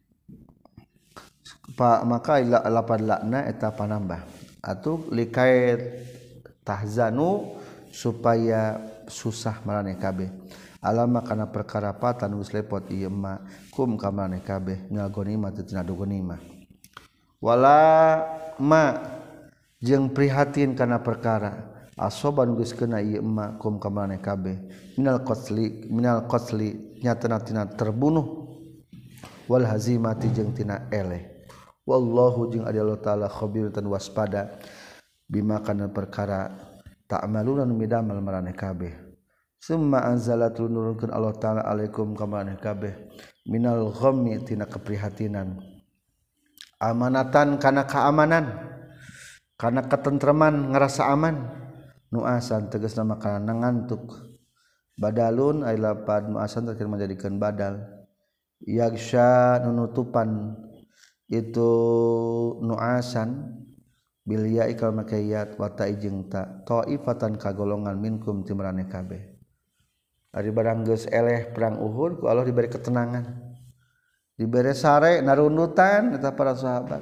Speaker 1: maka lapad lakna eta panambah atuh likait tahzanu supaya susah maraneh kabeh alama kana perkara patan geus lepot ieu mah kum ka maraneh kabeh ngagonimah teu tina dogonimah wala ma jeung prihatin kana perkara asoban geus kena ieu ma kum ka maraneh kabeh minal qatli nyatana tina terbunuh wal hazimati jeung tina eleh wallahu jeung ari Allah taala khabir tan waspada bima kana perkara ta'maluna nu midamel maraneh kabeh summa anzalatul nurunkeun Allah taala alaikum ka maraneh kabeh minal ghammi tina keprihatinan amanatan kana keamanan kana ketentreman ngerasa aman nuasan tegasna makanan ngantuk badalun ay lapad nuasan terkira menjadikan badal yagsha nunutupan itu nuasan bil ya'i kal makayat wa ta'i jeung ta taifatan kagolongan minkum timraneh kabeh ari barang geus eleh perang Uhud ku Allah diberi ketenangan diberi sare narundutan eta para sahabat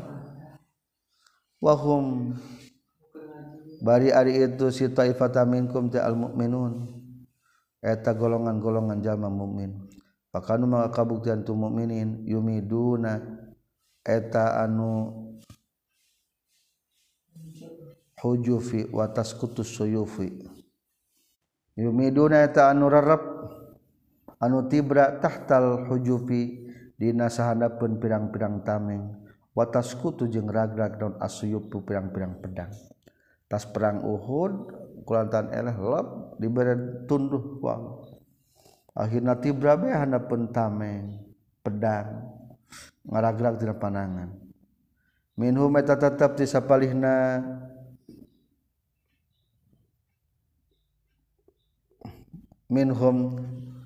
Speaker 1: wahum bari ari itu si taifatan minkum ta al mukminun eta golongan-golongan jalma mukmin pakanu maka kabuktian tu mukminin yumiduna eta anu hujufi wa tasqutus suyufi yumiduna eta anu rarep anu tibra tahtal hujufi dina sahandapeun pirang-pirang tameng wa tasqutu jeung ragrag daun asyupu pirang-pirang pedang tas perang Uhud kulantan eleh lep dibere tunduh wang akhirna tibra be handapeun tameng pedang ngaragrag tina panangan minhum eta tetep ti sapalihna minhum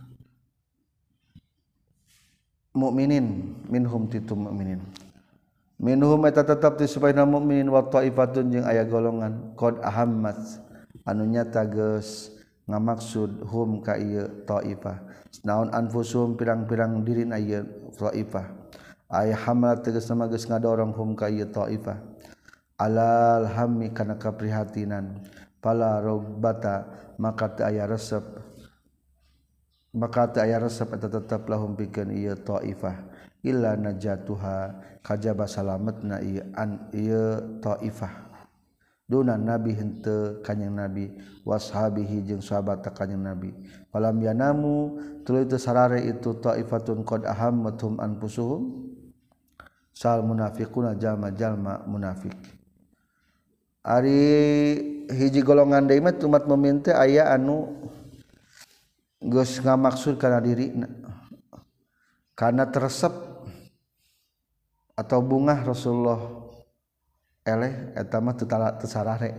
Speaker 1: mukminin minhum titu mukminin minhum eta tetep ti supayana mukminin wa taifatun jeung aya golongan qad ahammat anu nyata geus ngamaksud hum ka ieu taifah naon anfusum pirang-pirang dirina ieu taifah aya hamal tegasna geus ngadorong hum ka ieu taifah alal hammi kana kaprihatinan pala robbata maka teu aya resep eta tetep lahum pikeun ieu taifah illa najatuha kajaba salametna ieu taifah duna nabi henteu kanjing nabi washabihi jeung sahabat kanjing nabi falam yanamu tuluy teu sarare itu taifatun qad ahammatum anfusuhum sal munafiquna jalma-jalma munafik ari hiji golongan deui mah umat mukmin teh aya anu geus ngamaksud kana dirina kana teresep atau bungah Rasulullah eleh eta mah teu sarare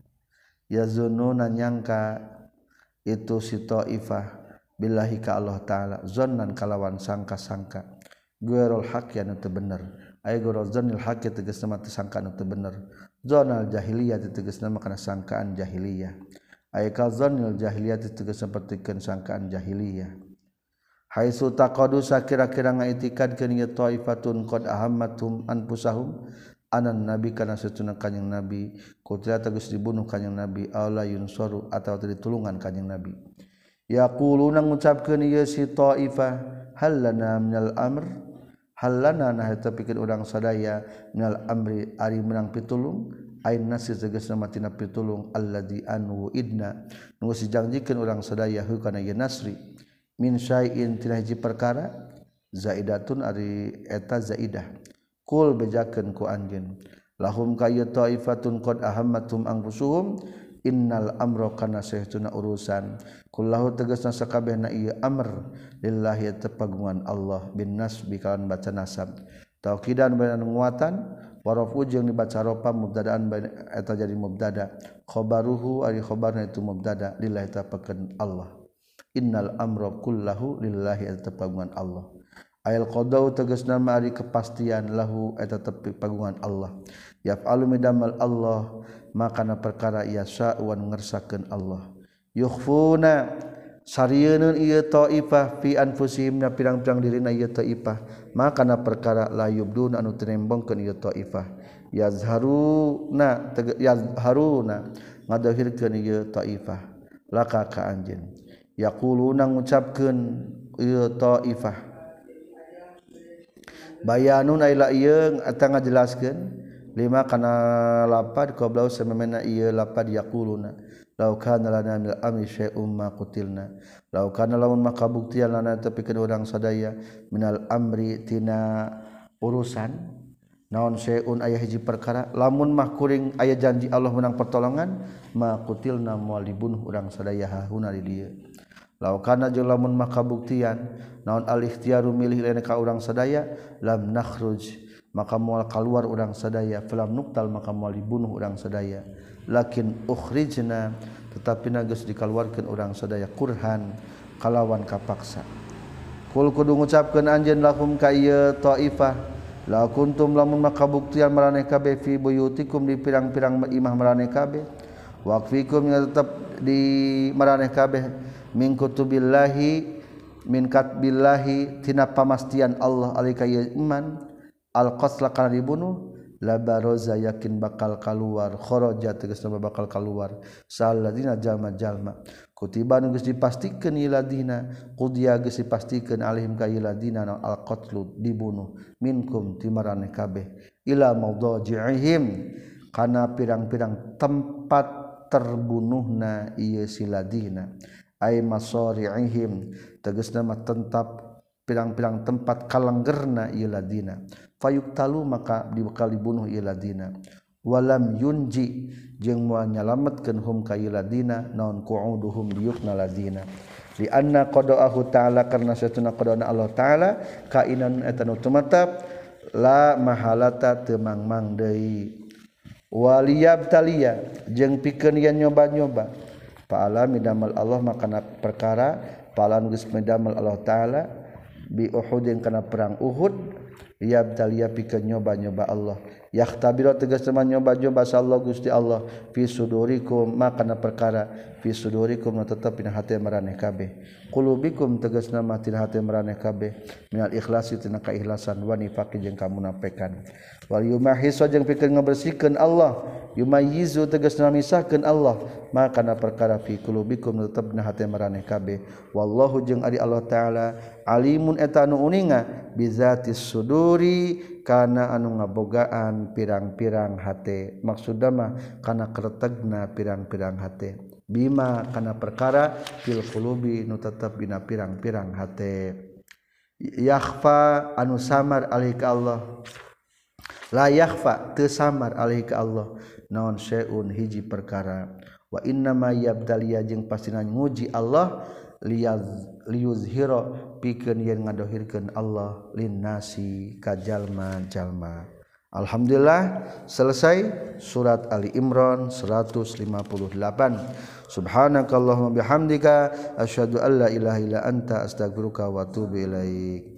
Speaker 1: yazununa nyangka itu si taifah billahi ka Allah taala zannan kalawan sangka-sangka ghairul haqqi anu teu bener aya ghairul zannil haqqi tegasna mah teu sangka anu teu bener zanal jahiliyah tegasna mah kana sangkaan jahiliyah aya ka zannil jahiliyah tegasna sapertikeun sangkaan jahiliyah haitsu taqadu sakira-kira ngaitikadkeun ieu taifatun qad ahammatum anfusahum anan nabi kana satuna kanjing nabi kutila tegas dibunuh kanjing nabi aula yunsaru atawa ditulungan kanjing nabi yaquluna ngucapkeun ieu si taifah hallana minal amr hallana nah eta pikeun urang sadaya minal amri ari menang pitulung ain nasi tegasna matina pitulung alladzi anu idna nu sijangjikeun urang sadaya hu kana ieu nasri min syai'in tina hiji perkara zaidatun ari eta zaidah kul bejakeun ku anjeun lahum kayyu taifatun qad ahammatum anfusuhum innal amra kana sahtuna urusan kullahu tegasna sakabehna ieu amr lillahi tepagungan Allah bin nasbi kawan baca nasab tauqidan baina nguatan warafu jeung dibaca ropa mubtadaan eta jadi mubtada khabaruhu ari khabarna itu mubtada lillahi tapakeun Allah innal amra kullahu lillahi tepagungan Allah ayal qadau tegasna mari kepastian lahu eta tepi pagungan Allah yaf'alu midamal Allah makana perkara yasa wan ngersakeun Allah yukhfuna sarieun ieu taifah fi anfusihim na pirang-pirang dirina ieu taifah makana perkara la yubduna anu tinembongkeun ieu taifah yazharuna ngadahirkeun ieu taifah laka ka anjeun yaquluna ngucapkeun ieu taifah bayanun ila ieu eta ngajelaskeun lima kana lapad qablau samemena ieu lapad yaquluna law kana lana min amri syai'um ma qutilna law kana lamun makabuktian lana tepikeun urang sadaya minal amri tina urusan naon syai'un aya hiji perkara lamun mah kuring aya janji Allah menang pertolongan ma qutilna moal dibunuh urang sadaya hauna di dieu law kana jeung lamun makabuktian naon al-ikhtiyaru milih lain ka urang sadaya lam nakhruj maka moal kaluar urang sadaya falam nuktal maka moal dibunuh urang sadaya lakin ukhrijna tetapi geus dikaluarkeun urang sadaya kurhan kalawan kapaksa kul kudu ngucapkeun anjeun lahum ka ieu taifah la kuntum lamun makabuktian maraneh kabeh fi buyutikum di pirang-pirang imah maraneh kabeh waqfikum tetep di maraneh kabeh min kutubillahi min katbillahi tina pamastian Allah alika iman al qasla kana dibunuh la baroza yakin bakal kaluar kharaja tegasna bakal kaluar saladina jalma-jalma kutiba geus dipastikeun ieu ladina qudiya geus dipastikeun alaihim ka ieu ladina al qatlu dibunuh minkum ti maraneh kabeh ila mawdaji'ihim kana pirang-pirang tempat terbunuhna ieu si ladina ay masari'ihim tegasna mah tempat pirang-pirang tempat kalanggerna ieu ladina fayuktalu maka dibekal dibunuh ieu ladina walam yunji jeung moal nyalametkeun hum ka ieu ladina naon qu'uduhum diukna ladina li anna qada'ahu ta'ala karna satuna qada'na Allah ta'ala kainan eta nu tumatab la mahalata teu mangmang deui waliyabtaliya jeung pikeun yen nyoba-nyoba fa'ala midamal Allah makana perkara fa'ala geus midamal Allah ta'ala bi Uhudin kana perang Uhud liyabtaliya pikeun nyoba-nyoba Allah yakhtabira tegasna nyoba-nyoba sallallahu Gusti Allah fi sudurikum makana perkara fi sudurikum tetep dina hate maraneh kabeh qulubikum tegasna mah tina hate maraneh kabeh minal ikhlasi tina kaikhlasan wa nifaqi jeung kamunafikan wal yumahisu jeung pikeun ngabersihkeun Allah yumayyizu tegasna misahkeun Allah makana perkara fi qulubikum tetep dina hate maraneh kabeh wallahu jeung ari Allah taala alimun eta anu uninga bizatis suduri kana anu ngabogaan pirang-pirang hate maksudna mah kana kretegna pirang-pirang hate bima kana perkara fil qulubi nu tetep dina pirang-pirang hate yakhfa anu samar alaihi ka Allah la yakhfa teu samar alaihi ka Allah naon syai'un hiji perkara wa inna ma yabdaliya jeung pastina nguji Allah liyuzhira pikeun yen ngadohirkeun Allah linnasi ka jalma-jalma. Alhamdulillah selesai surat Ali Imran 158. Subhanakallahumma bihamdika asyhadu an la ilaha illa anta astaghfiruka wa atubu ilaik.